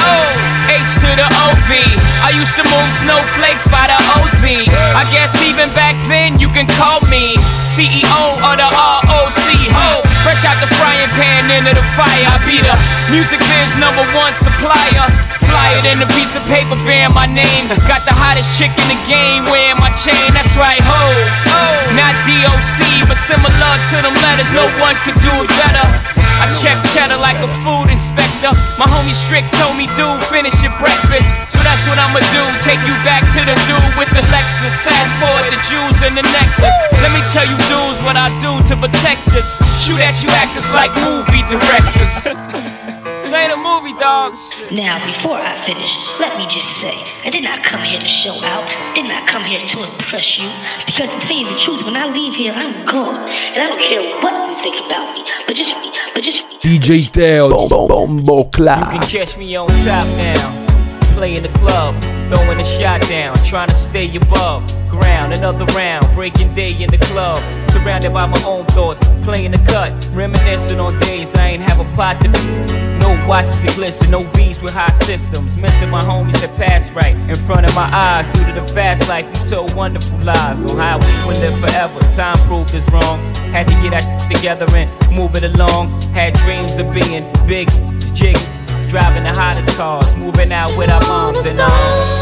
H to the O-V. I used to move snowflakes by the OZ. I guess even back then you can call me CEO of the ROC. Ho, fresh out the frying pan into the fire. I be the music biz #1 supplier. Fly it in a piece of paper bearing my name. Got the hottest chick in the game wearing my chain. That's right, ho, not DOC, but similar to them letters. No one could do it better. I check cheddar like a food inspector. My homie Strick told me, dude, finish your breakfast. So that's what I'ma do, take you back to the dude with the Lexus. Fast forward the jewels and the necklace. Let me tell you dudes what I do to protect this. Shoot at you actors like movie directors. This ain't a movie, dogs. Now, before I finish, let me just say, I did not come here to show out, did not come here to impress you, because to tell you the truth, when I leave here, I'm gone, and I don't care what you think about me, but just me. DJ Teo, Bombo Clap. You can catch me on top now, play in the club, throwing a shot down, trying to stay above ground. Another round, breaking day in the club, surrounded by my own thoughts, playing the cut, reminiscing on days I ain't have a pot to no watches that glisten, no V's with high systems. Missing my homies that passed right in front of my eyes. Due to the fast life, we told wonderful lies on how we would live forever. Time proved us wrong. Had to get our together and move it along. Had dreams of being big, jig, driving the hottest cars, moving out with our moms and all.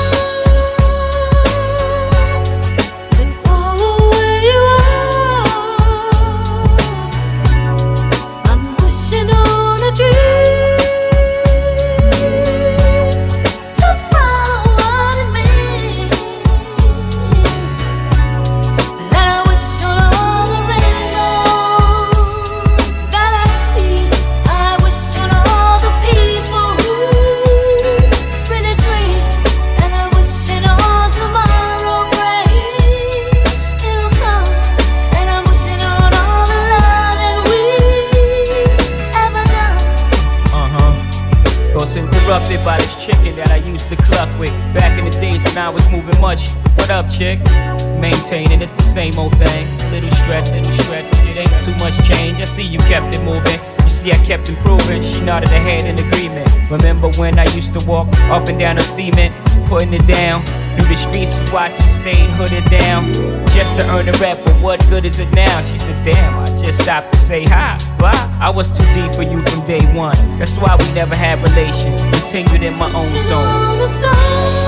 Interrupted by this chicken that I used to cluck with back in the days when I was moving much. What up, chick? Maintaining, it's the same old thing. Little stress, it ain't too much change. I see you kept it moving. You see I kept improving. She nodded her head in agreement. Remember when I used to walk up and down the cement, putting it down through the streets, watching stayed hooded down just to earn a rep. But what good is it now? She said, damn, I just stopped to say hi. Bye. I was too deep for you from day one. That's why we never had relations. Continued in my own zone.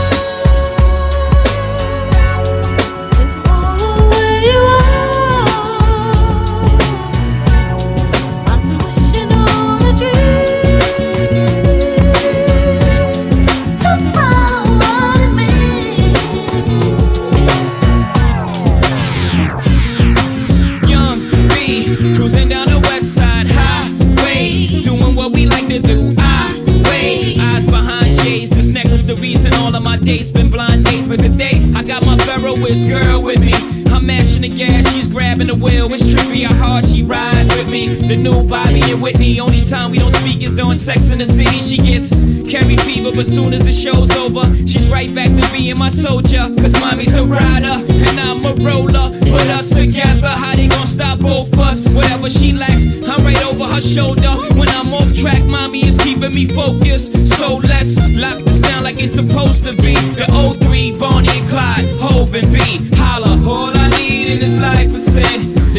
Days been blind days, but today I got my Ferroist girl with me. I'm mashing the gas, she's grabbing the wheel. It's trippy how hard she rides with me. The new Bobby and Whitney. Only time we don't speak is during Sex in the City. She gets carry fever, but soon as the show's over, she's right back to being my soldier. Cause mommy's a rider and I'm a roller. Put us together, how they gon' stop both us? Whatever she lacks, I'm right over her shoulder. When I'm off track, mommy is keeping me focused. So let's lock this down like it's supposed to be. The 03, Bonnie and Clyde, Hov and B. Holla, all I need in this life is sin. The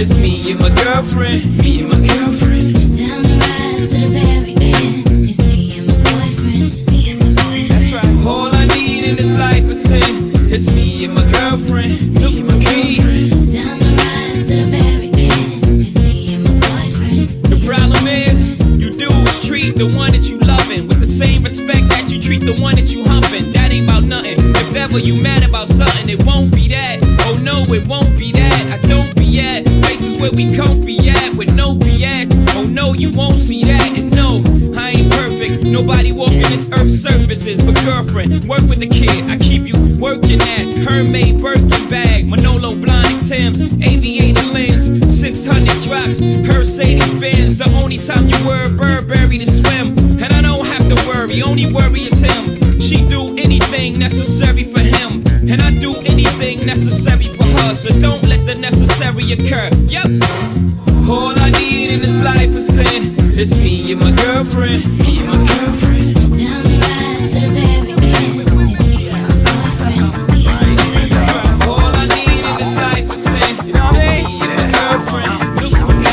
It's me and my girlfriend, me and my girlfriend. Down the ride to the very end. It's me and my boyfriend, me and my boyfriend. That's right. All I need in this life is sin. It's me and my girlfriend, me and my girlfriend. Down the ride to the very end. It's me and my boyfriend. The problem is, you dudes treat the one that you loving with the same respect that you treat the one that you humping. That ain't about nothing. If ever you mad about something, it won't be that. Oh no, it won't be that. I don't be at places where we comfy at with no BS. Oh no, you won't see that. And no, I ain't perfect. Nobody walking this earth's surfaces. But girlfriend, work with the kid. I keep you working at Hermès Birkin bag, Manolo Blahnik Timbs, aviator lens, 600 drops, Mercedes Benz. The only time you wear a Burberry to swim, and I don't have to worry. Only worry is him. She do anything necessary for him, and I do anything necessary for her. So don't let the necessary occur. Yep. All I need in this life is sin. It's me and my girlfriend, me and my girlfriend. Down the ride to the very end. It's me and my boyfriend, me and my boyfriend. All I need in this life is sin. It's me and my girlfriend, me and my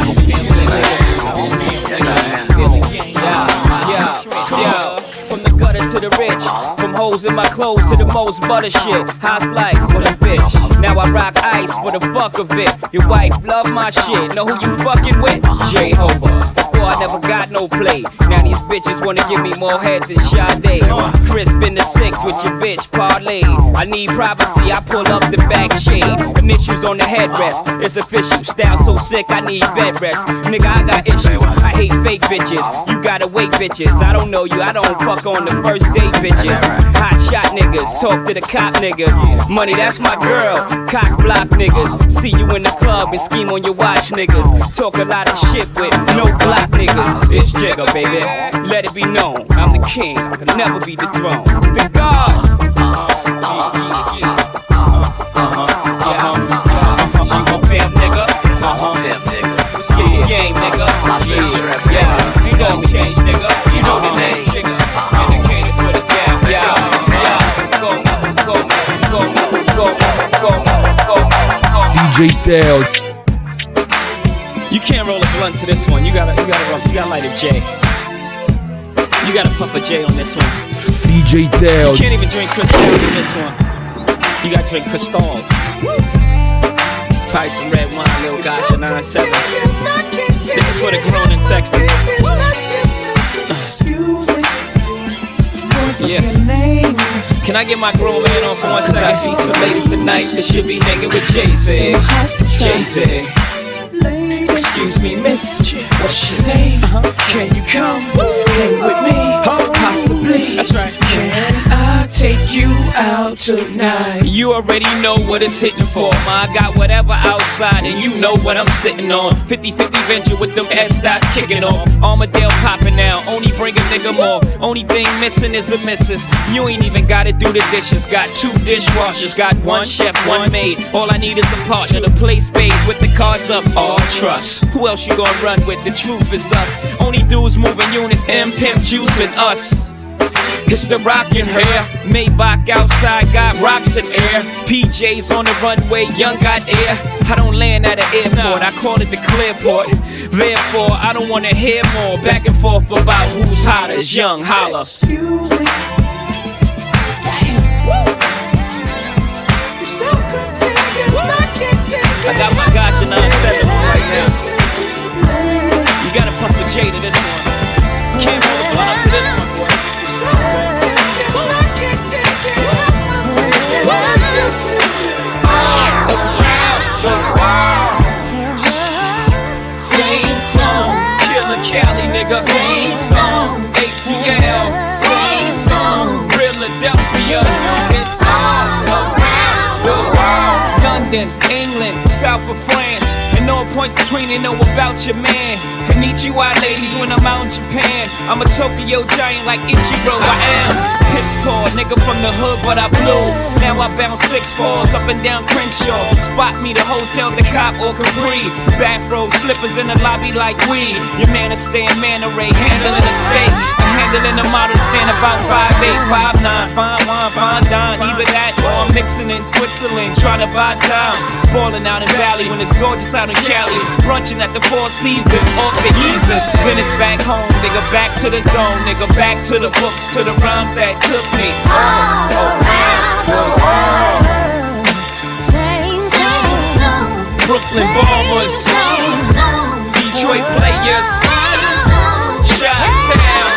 girlfriend. From the gutter to the rich, from hoes in my clothes to the most butter shit. How's life for the bitch? Now I rock ice for the fuck of it. Your wife love my shit. Know who you fucking with? Jehovah. Before I never got no play. Now these bitches wanna give me more head than Sade. Crisp in the 6 with your bitch parlay. I need privacy, I pull up the back shade. Initials on the headrest, it's official. Style so sick, I need bed rest. Nigga, I got issues, I hate fake bitches. You gotta wait bitches, I don't know you, I don't fuck on the first date bitches. Hot shot niggas, talk to the cop niggas. Money, that's my girl, cock block niggas. See you in the club and scheme on your watch niggas. Talk a lot of shit with no block niggas. It's Jigga, baby, let it be known. I'm the king, I can never be dethroned. The God. She gon' pimp nigga. Spit the game nigga. Yeah, ain't nothing changed nigga. You know the name nigga. Indicated for the gap. Yeah. Go. DJ Teo. You can't roll a blunt to this one. You gotta light a J. You gotta puff a J on this one. DJ Teo. You can't even drink Cristal on this one. You gotta drink Cristal. Probably some red wine, little gosh, a 9-7. This is for the grown and sexy. Yeah. Can I get my grown man on for 1 second? I see some ladies tonight that should be hanging with Jay-Z. Jay-Z. Excuse me, miss, what's your name? Can you come hang with me? Possibly. That's right. Can I take you out tonight? You already know what it's hitting for, ma. I got whatever outside and you know what I'm sitting on. 50-50 venture with them S-dots kicking off. Armadale popping now, only bring a nigga more. Only thing missing is a missus. You ain't even gotta do the dishes. Got 2 dishwashers, got 1 chef, 1 maid. All I need is a partner to play spades with the cards up. All trust. Who else you gonna run with? The truth is us. Only dudes moving units, M Pimp juicing us. It's the rockin' hair, Maybach outside, got rocks in air. PJs on the runway, young got air. I don't land at an airport, I call it the Clearport. Therefore, I don't wanna hear more back and forth about who's hotter, young holla. Excuse me. I got my gotcha 9-7 right now. You gotta pump a J to this one. Can't roll a blunt up to this one, boy. Same song, Killer Cali nigga. Same song, ATL. Same song, Philadelphia. It's all around the world. London, England, south of France. And no points between they know about your man. Konnichiwa ladies when I'm out in Japan. I'm a Tokyo giant like Ichiro, I am. Piss poor, nigga from the hood, but I blew. Now I bounce 6 floors up and down Crenshaw. Spot me the hotel, the cop or Capri. Bathrobe, slippers in the lobby like weed. Your man is staying man array, handling a steak. I'm handling a model, stand about 5'8", 5'9", fine wine, fine dine. Either that or I'm mixing in Switzerland, trying to buy time. Balling out in Valley when it's gorgeous out down in Cali, brunching at the Four Seasons off the easel. Then it's back home, nigga, back to the zone, nigga, back to the books, to the rhymes that took me all around the world. Brooklyn Bombers, Detroit Players, Chi-Town.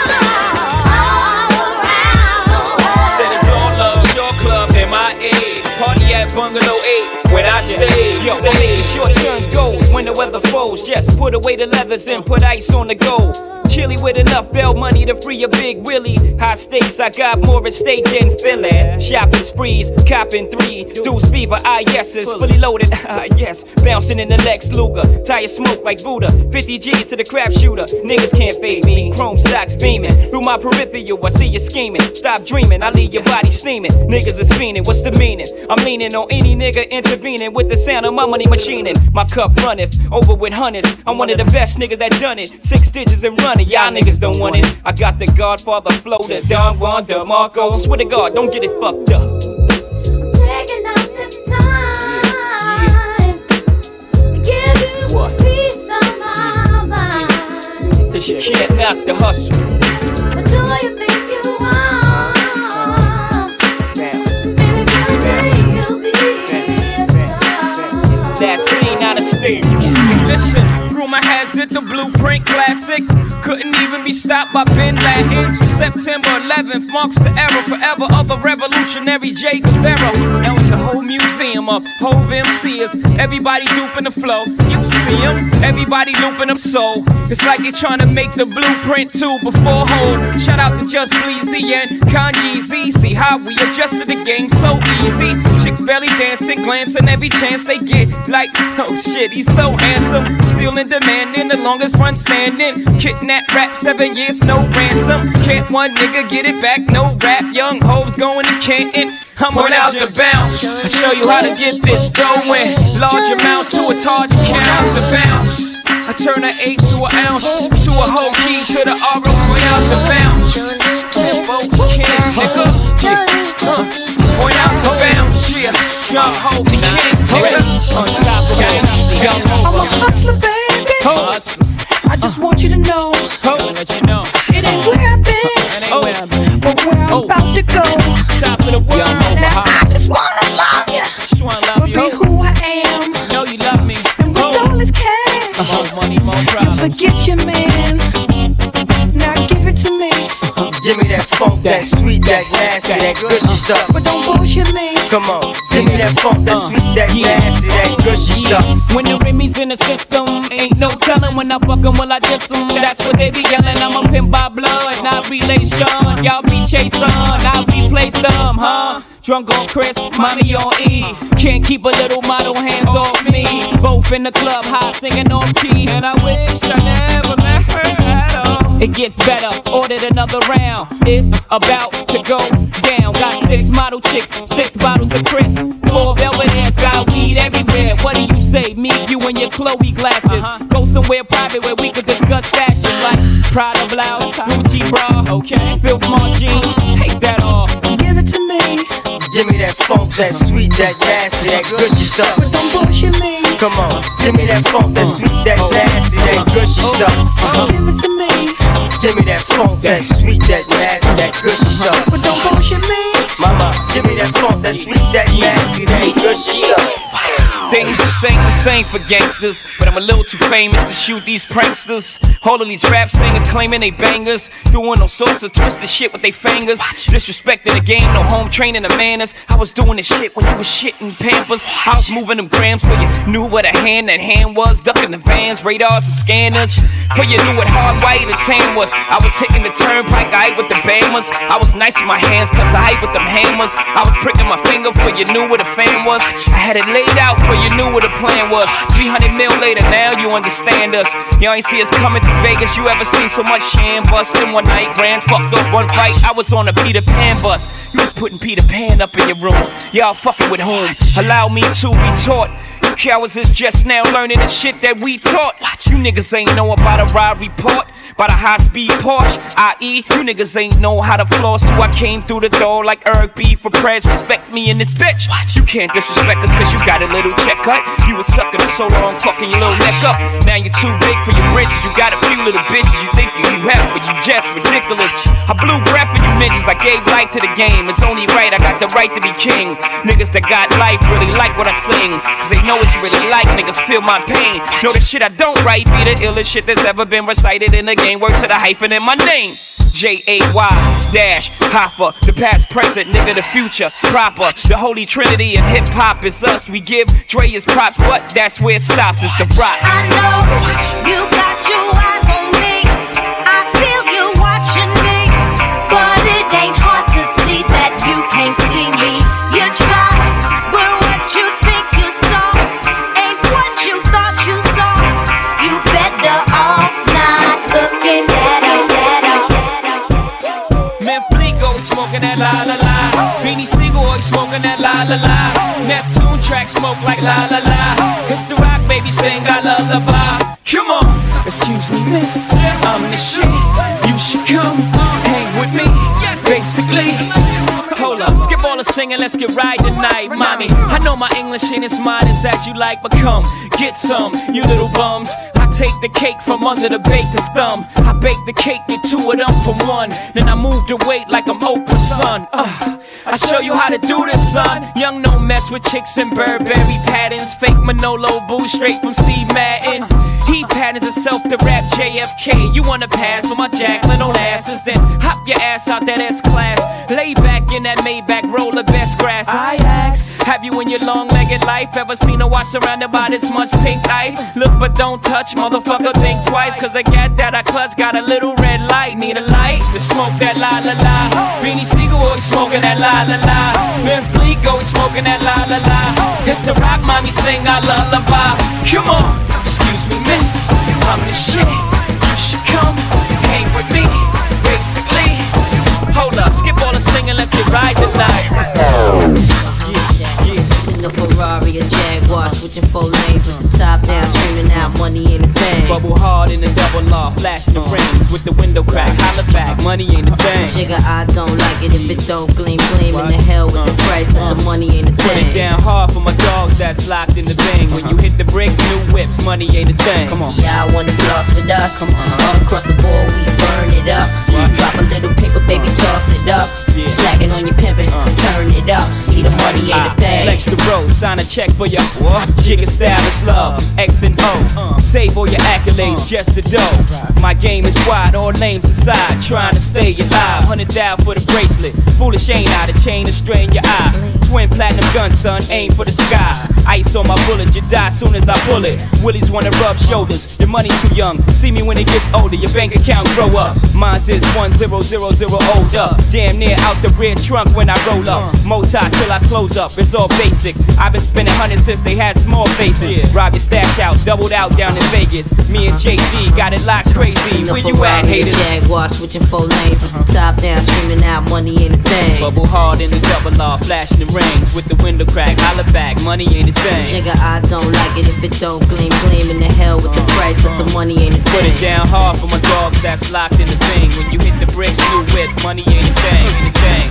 Said it's all love, Shore Club, MIA. Party at Bungalow 8, when I stay. Yo, it's your turn goes when the weather falls. Just put away the leathers and put ice on the gold. Chilly with enough bail money to free a Big Willie. High stakes, I got more at stake than Philly. Shopping sprees, copping 3 Deuce Fever, yeses, fully loaded, yes. Bouncing in the Lex Luger, tire smoke like Buddha. 50 G's to the crap shooter, niggas can't fade me. Chrome socks beaming, through my peripheral, I see you scheming. Stop dreaming, I leave your body steaming. Niggas is fiending, what's the meaning? I'm leaning on any nigga intervening with the sound of my money machining. My cup runneth, over with hundreds. I'm one of the best niggas that done it. 6 digits and running. Y'all niggas don't want it. I got the Godfather flow, the Don Juan DeMarco. Swear to God, don't get it fucked up. I'm taking up this time to give you a piece of my mind. Cause you can't knock the hustle. But do you think you are? Baby, you'll be a star. That scene out of stage. Listen, rumor has it the Blueprint classic couldn't even be stopped by Bin Laden. So September 11th marks the era forever of the revolutionary Che Guevara. Now it's a whole museum of whole MCs. Everybody duping the flow. You see them, everybody looping them soul. It's like they trying to make the Blueprint 2 before Hov. Shout out to Just Bleezy and Kanye Z. See how we adjusted the game so easy. Chicks belly dancing, glancing every chance they get. Like, oh shit, he's so handsome. Still in demand, in the longest run standing. Kidnap rap, 7 years, no ransom. Can't one nigga get it back, no rap. Young hoes going to Canton. I'm on out the bounce. I show you how to get this dough in large amounts till it's hard to count out the bounce. I turn an 8 to an ounce, to a whole key, to the ROC out the bounce. Tempo king, nigga. Point out the bounce, yeah. Young hope the king, nigga. Unstoppable, young I'm a hustler, baby. Hustler. I just want you to know. Let you know. It ain't where I've been, but where I'm about to go. Top of the world. Now I just wanna love you. Just wanna love you. Be who I am. Know you love me. And with all this cash, more money, more problems. You forget your man. Now give it to me. Give me that funk, that sweet, that nasty, that gushy stuff. But don't bullshit me. Come on, give me that funk, that sweet, that nasty, that gushy stuff. When the Remy's in the system, ain't no telling when I fuck 'em, will I diss 'em? That's what they be yelling. I'm a pimp by blood, not relation. Y'all be chasing, I replace them, huh? Drunk on Chris, mommy on E. Can't keep a little model hands off me. Both in the club, high singing off key. And I wish I never met her at all. It gets better, ordered another round. It's about to go down. Got 6 model chicks, 6 bottles of Chris. 4 velvet ass, got weed everywhere. What do you say? Me, you, and your Chloe glasses. Go somewhere private where we could discuss fashion, like Prada blouse, Gucci bra, okay. Filth Mart jeans, take that off. Give it to me. Give me that funk, that sweet, that nasty, that gushy stuff. But don't bullshit me. Come on, give me that funk, that sweet, that nasty, that gushy stuff. Give it to me. Give me that funk, that sweet, that nasty, that gushy stuff. But don't bullshit me. Mama, give me that funk, that sweet, that nasty, that gushy stuff. Things just ain't the same for gangsters, but I'm a little too famous to shoot these pranksters. All of these rap singers claiming they bangers, doing all sorts of twisted shit with they fingers. Disrespecting the game, no home training the manners. I was doing this shit when you was shitting Pampers. I was moving them grams for you knew what a hand was. Ducking the vans, radars and scanners. For you knew what hard white and tan was. I was hitting the turnpike, I ate with the bammers. I was nice with my hands, cause I ate with them hammers. I was pricking my finger for you knew what a fan was. I had it laid out for you knew what the plan was. 300 mil later, now you understand us. Y'all ain't see us coming to Vegas. You ever seen so much sham bust in one night? Ran, fucked up one fight. I was on a Peter Pan bus. You was putting Peter Pan up in your room. Y'all fucking with whom? Allow me to be taught. You cowards is just now learning the shit that we taught. You niggas ain't know about a ride report, about a high-speed Porsche, i.e. You niggas ain't know how to floss till I came through the door like Eric B. for prayers. Respect me in this bitch. You can't disrespect us cause you got a little check cut. You was sucking for so long, fucking your little neck up. Now you're too big for your britches. You got a few little bitches you think you have, but you just ridiculous. I blew breath for you bitches. I gave life to the game. It's only right, I got the right to be king. Niggas that got life really like what I sing, cause they know it's really like niggas feel my pain. Know the shit I don't write be the illest shit that's ever been recited in the game. Word to the hyphen in my name. J-A-Y-Hoffa, the past, present, nigga, the future, proper. The holy trinity of hip-hop is us. We give Dre his props, but that's where it stops, it's the rock. I know you got your eyes on me, I feel you watching me, but it ain't hard to see that you can't see me. You try, but what you think you saw ain't what you thought you saw. You better off not looking at it. Smoking that la la la. Beanie Siegel always smoking that la la la. Neptune track smoke like la la la. It's the rock, baby, sing a lullaby. Come on, excuse me, miss, I'm the shit. You should come hang with me, basically. Hold up, skip all the singing, let's get right tonight, mommy. I know my English ain't as modest as you like, but come, get some, you little bums. I take the cake from under the baker's thumb. I bake the cake, get two of them for one. Then I move the weight like I'm Oprah's son. I show you how to do this, son. Young no mess with chicks and Burberry patterns. Fake Manolo boo straight from Steve Madden. He patterns himself to rap JFK. You wanna pass for my Jacqueline on asses, then hop your ass out that S-Class. Lay back in that Maybach, roll the best grass. I ask, have you in your long-legged life ever seen a watch surrounded by this much pink ice? Look but don't touch, motherfucker, think twice, cause I got that I clutch, got a little red light. Need a light to smoke that la la la. Beanie Siegel always smoking that la la la. Memphis Bleak always smoking that la la la. It's the rock, mommy, sing our lullaby. Come on, excuse me, miss, I'm the shit. You should come hang with me, basically. Hold up, skip all the singing, let's get right tonight. A Ferrari, a Jaguar, switching 4 lanes with the top down, screaming out money ain't a thing. Bubble hard in the double law, flashing the rings with the window crack, holla back, money ain't a thing. Jigga, I don't like it if it don't gleam, gleam in the hell with the price, but the money ain't a thing. Put it down hard for my dogs that's locked in the bang. When you hit the bricks, new whips, money ain't a thing. Come on. Yeah, I wanna floss with us. All across the board, we burn it up. Drop a little paper, baby, toss it up. Slacking on your pimpin', turn it up. See the money ain't a thing. Flex the road, sign a check for your Jigga style is love, X and O. Save all your accolades, just the dough. My game is wide, all names aside. Trying to stay alive, 100,000 for the bracelet. Foolish ain't out, a chain to strain your eye. Twin platinum gun, son, aim for the sky. Ice on my bullet, you die soon as I pull it. Willies wanna rub shoulders, your money too young. See me when it gets older, your bank account grow up. Mine's is 1000 old up. Damn near out the rear trunk when I roll up. Moti till I close up, it's all basic. I've been spending hundreds since they had small faces. Rob your stash out, doubled out down in Vegas. Me and JD got it locked crazy. Where you at, haters? Jaguar, switching 4 lanes with the top down, screaming out money ain't a thing. Bubble hard in the double law, flashing the rings with the window crack, holla back, money ain't a thing. Jigga, I don't like it if it don't gleam, gleam in the hell with the price, but the money ain't a thing. Put it down hard for my dogs that's locked in the thing. When you hit the bricks, new whip, money ain't a thing, ain't a thing.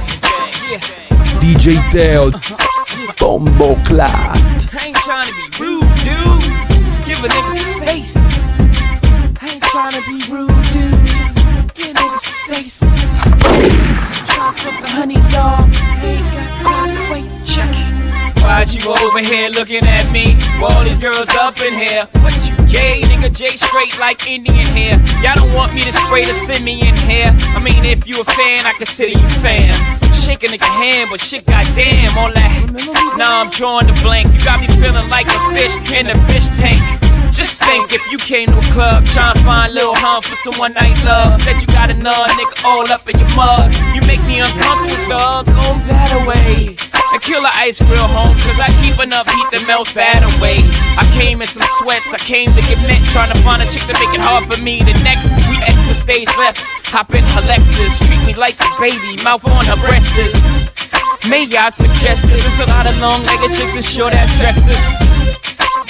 DJ Teo, Bombo Clat. I ain't trying to be rude, dude. Give a nigga some space. I ain't trying to be rude, dude. Just give niggas some space. Just trying to the honey dog. I ain't got time to waste. Check it. Why you over here looking at me? All these girls up in here. What you gay, nigga? J straight like Indian hair. Y'all don't want me to spray the Simeon hair. I mean, if you a fan, I consider you fam. Shake a nigga hand, but shit, goddamn, all that. Nah, I'm drawing the blank. You got me feeling like a fish in a fish tank. Just think if you came to a club trying to find Lil Hum for some one night love. Said you got another nigga all up in your mug. You make me uncomfortable, dog. Go that away. And kill the ice grill home, cause I keep enough heat to melt that away. I came in some sweats, I came to get met, trying to find a chick to make it hard for me. The next we exit stage left, hop in her Lexus, treat me like a baby, mouth on her breasts. May I suggest this? There's a lot of long-legged chicks in short-ass dresses.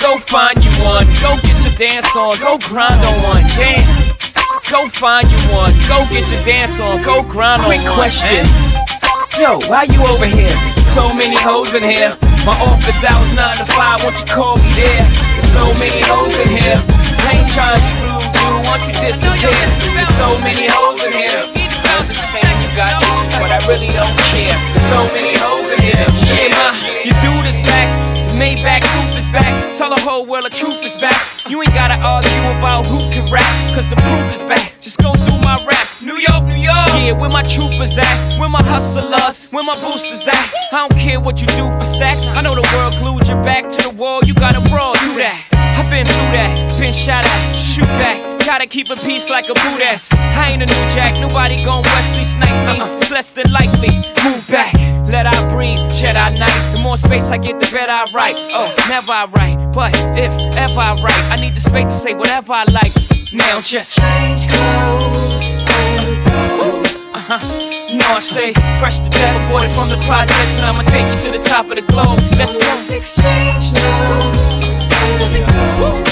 go find you one. Go get your dance on, go grind on one. Damn. Go find you one. Go get your dance on, go grind on one. Quick question. Yo, why you over here? So many hoes in here. My office hours 9 to 5, won't you call me there? There's so many hoes in here. I ain't trying to be rude, dude, once you disappear. There's so many hoes in here. I understand you got issues, but I really don't care. There's so many hoes in here. Yeah, your dude is back. Maybach roof is back. Tell the whole world the truth is back. You ain't gotta argue about who can rap, cause the proof is back. Just go through my raps. New York, New York. Yeah, where my troopers at? Where my hustlers? Where my boosters at? I don't care what you do for stacks. I know the world glued your back to the wall. You gotta brawl, do that. I've been through that. Been shot at, shoot back. Gotta keep a peace like a Buddhist. I ain't a new jack, nobody gon' Wesley snipe me. It's less than likely. Move back, let I breathe, Jedi Knight. The more space I get, the better I write. Oh, never I write, but if ever I write, I need the space to say whatever I like. Now just change clothes and go. You know I stay fresh to death, aborted from the projects, and I'ma take you to the top of the globe. Let's go. Let's exchange now. How does it go?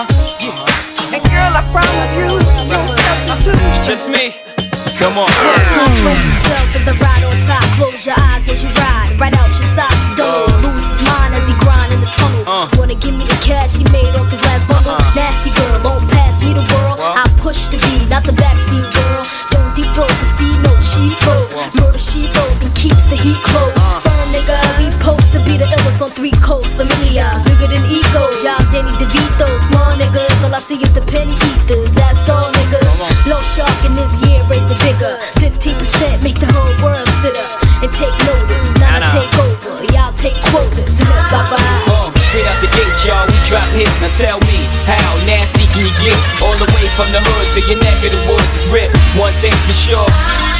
And girl, I promise you, no substitute. Just me. Come on. Compose yourself as I ride on top. Close your eyes as you ride. Right out your socks. Don't lose his mind as he grind in the tunnel. Wanna give me the cash he made off his last bundle. Nasty girl, won't pass me the world. I push the beat, not the backseat girl. Don't deep throat the sea, no cheap clothes. Murder she wrote and keeps the heat close. Firm nigga, we post to be the illest on 3 coasts. Familiar, bigger than ego. Y'all Danny DeVito. Small niggas, all I see is the penny eaters. That's all niggas. Low shark in this year, raise the bigger. 15% make the whole world sit up and take notice. Now I take over, y'all take quotas. Bye-bye. Straight out the gate, y'all, we drop hits. Now tell me, how nasty can you get? All the way from the hood to your neck of the woods is ripped. One thing for sure.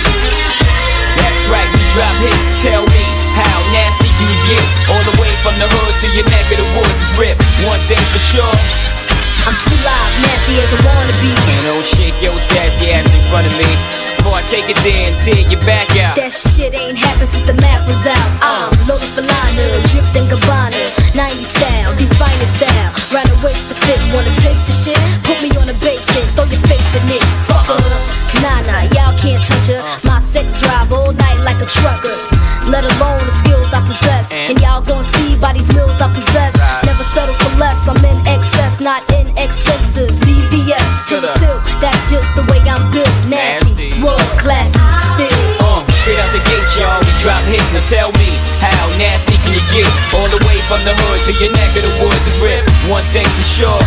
That's right, we drop hits. Tell me, how nasty can you get? All the way from the hood to your neck of the woods is ripped. One thing for sure. I'm too live, nasty as I wanna be. And don't shake your sassy ass in front of me. Before I take it there and tear your back out. That shit ain't happened since the map was out. I'm loaded for liner, dripped in Gabbana. 90 style, the finest style. Round the waist to fit, wanna taste the shit? Put me on the bass and throw your face in it. Fuck her. Nah, y'all can't touch her. My sex drive all night like a trucker. Let alone the skills I possess. And y'all gon' see by these mills I possess. Never settle for less, I'm in excess, not inexpensive. VVS to the tilt, that's just the way I'm built. Nasty, world class, still. Straight out the gate, y'all, we drop hits. Now tell me, how nasty can you get? All the way from the hood to your neck of the woods is ripped. One thing for sure.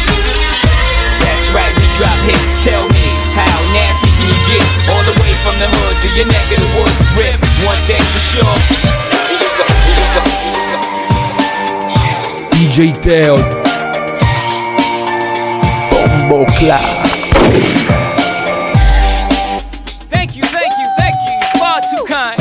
That's right, we drop hits. Tell me, how nasty can you get? All the way from the hood to your neck of the woods is ripped. One thing for sure. DJ Teo Bombo Clat. Thank you, far too kind.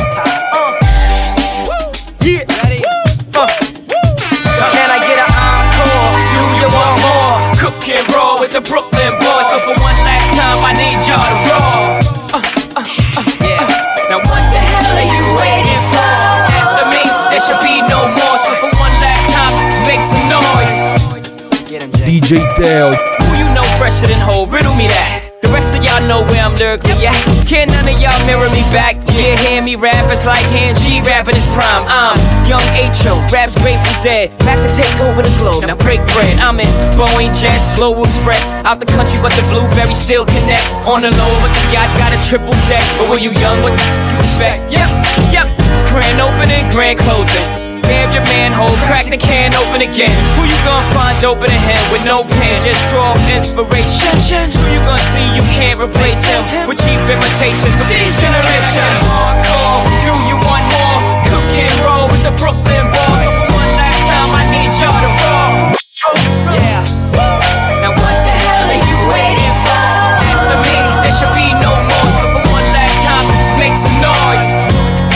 Yeah. Ready? Can I get an encore? Do you want more? Cook and roll with the Brooklyn boys. So for one last time, I need y'all to roll. Now what the hell are you waiting for? After me, there should be no more. So for one last time, make some noise. DJ Teo. Who you know fresher than Ho? Riddle me that. The rest of y'all know where I'm lyrically at. Can't none of y'all mirror me back. Yeah, hear me rap, it's like Han G rapping his prime. I'm Young H.O., raps Grateful Dead, back to take over the globe. Now break bread, I'm in Boeing Jets, Global Express. Out the country, but the blueberries still connect. On the low, but the yacht got a triple deck. But when you young, what you expect? Yep. Grand opening, grand closing. Bam your manhole, crack the can open again. Who you gonna find open a hand with no pen? Just draw inspiration. Who you gonna see you can't replace him with cheap imitations of these generations? Hardcore, do you want more? Cook and roll with the Brooklyn boys. So for one last time, I need y'all to roll. Yeah. Now what the hell are you waiting for? After me, there should be no more. So for one last time, make some noise.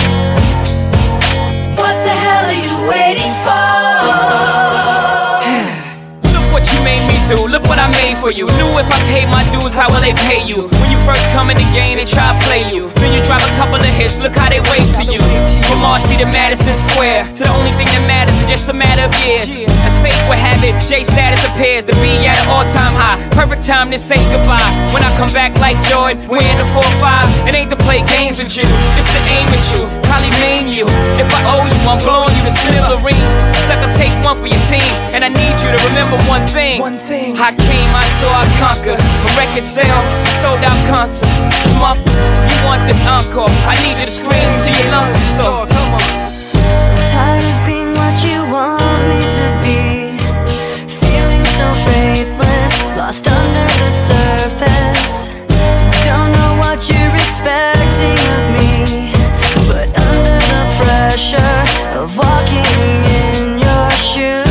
Waiting for. Look what you made me do, look what I made for you. Knew if I pay my dues, how will they pay you? When you first come in the game, they try to play you. Then you drop a couple of hits, look how they wait to you. From Marcy to Madison Square, to the only thing that matters is just a matter of years. As fate would have it, J status appears to be at an all-time high. Perfect time to say goodbye. When I come back like Jordan, wearing the 4-5. It ain't to play games with you, it's to aim at you, probably maim you. If I owe you, I'm blowing you to smithereens. Except I'll take one for your team, and I need you to remember one thing. I came, I saw, I conquered. From record sales, sold out concerts. Come up, you want this encore? I need you to scream till your lungs get sore. Come on. I'm tired of being what you want me to be. Feeling so faithless, lost under the surface. Don't know what you're expecting of me, but under the pressure of walking in your shoes.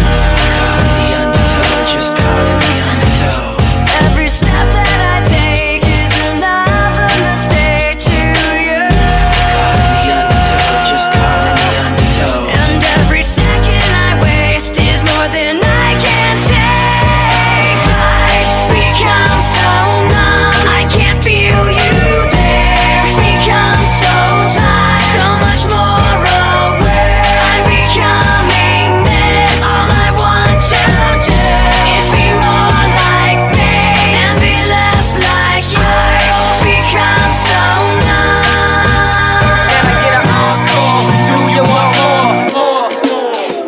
Just caught in the undertow. Every step that I take is another mistake to you. Caught in the undertow, just caught in the undertow. And every second I waste is more than I can take. Life becomes so numb, I can't feel you there. Become so tired, so much more aware. I'm becoming this. All I want to do is be more like me and be less like you. Life becomes so numb. Can I get an encore? Do you want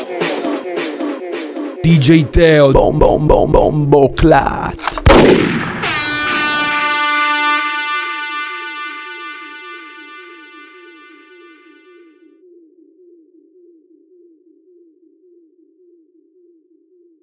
more? DJ Teo, Bomboclat.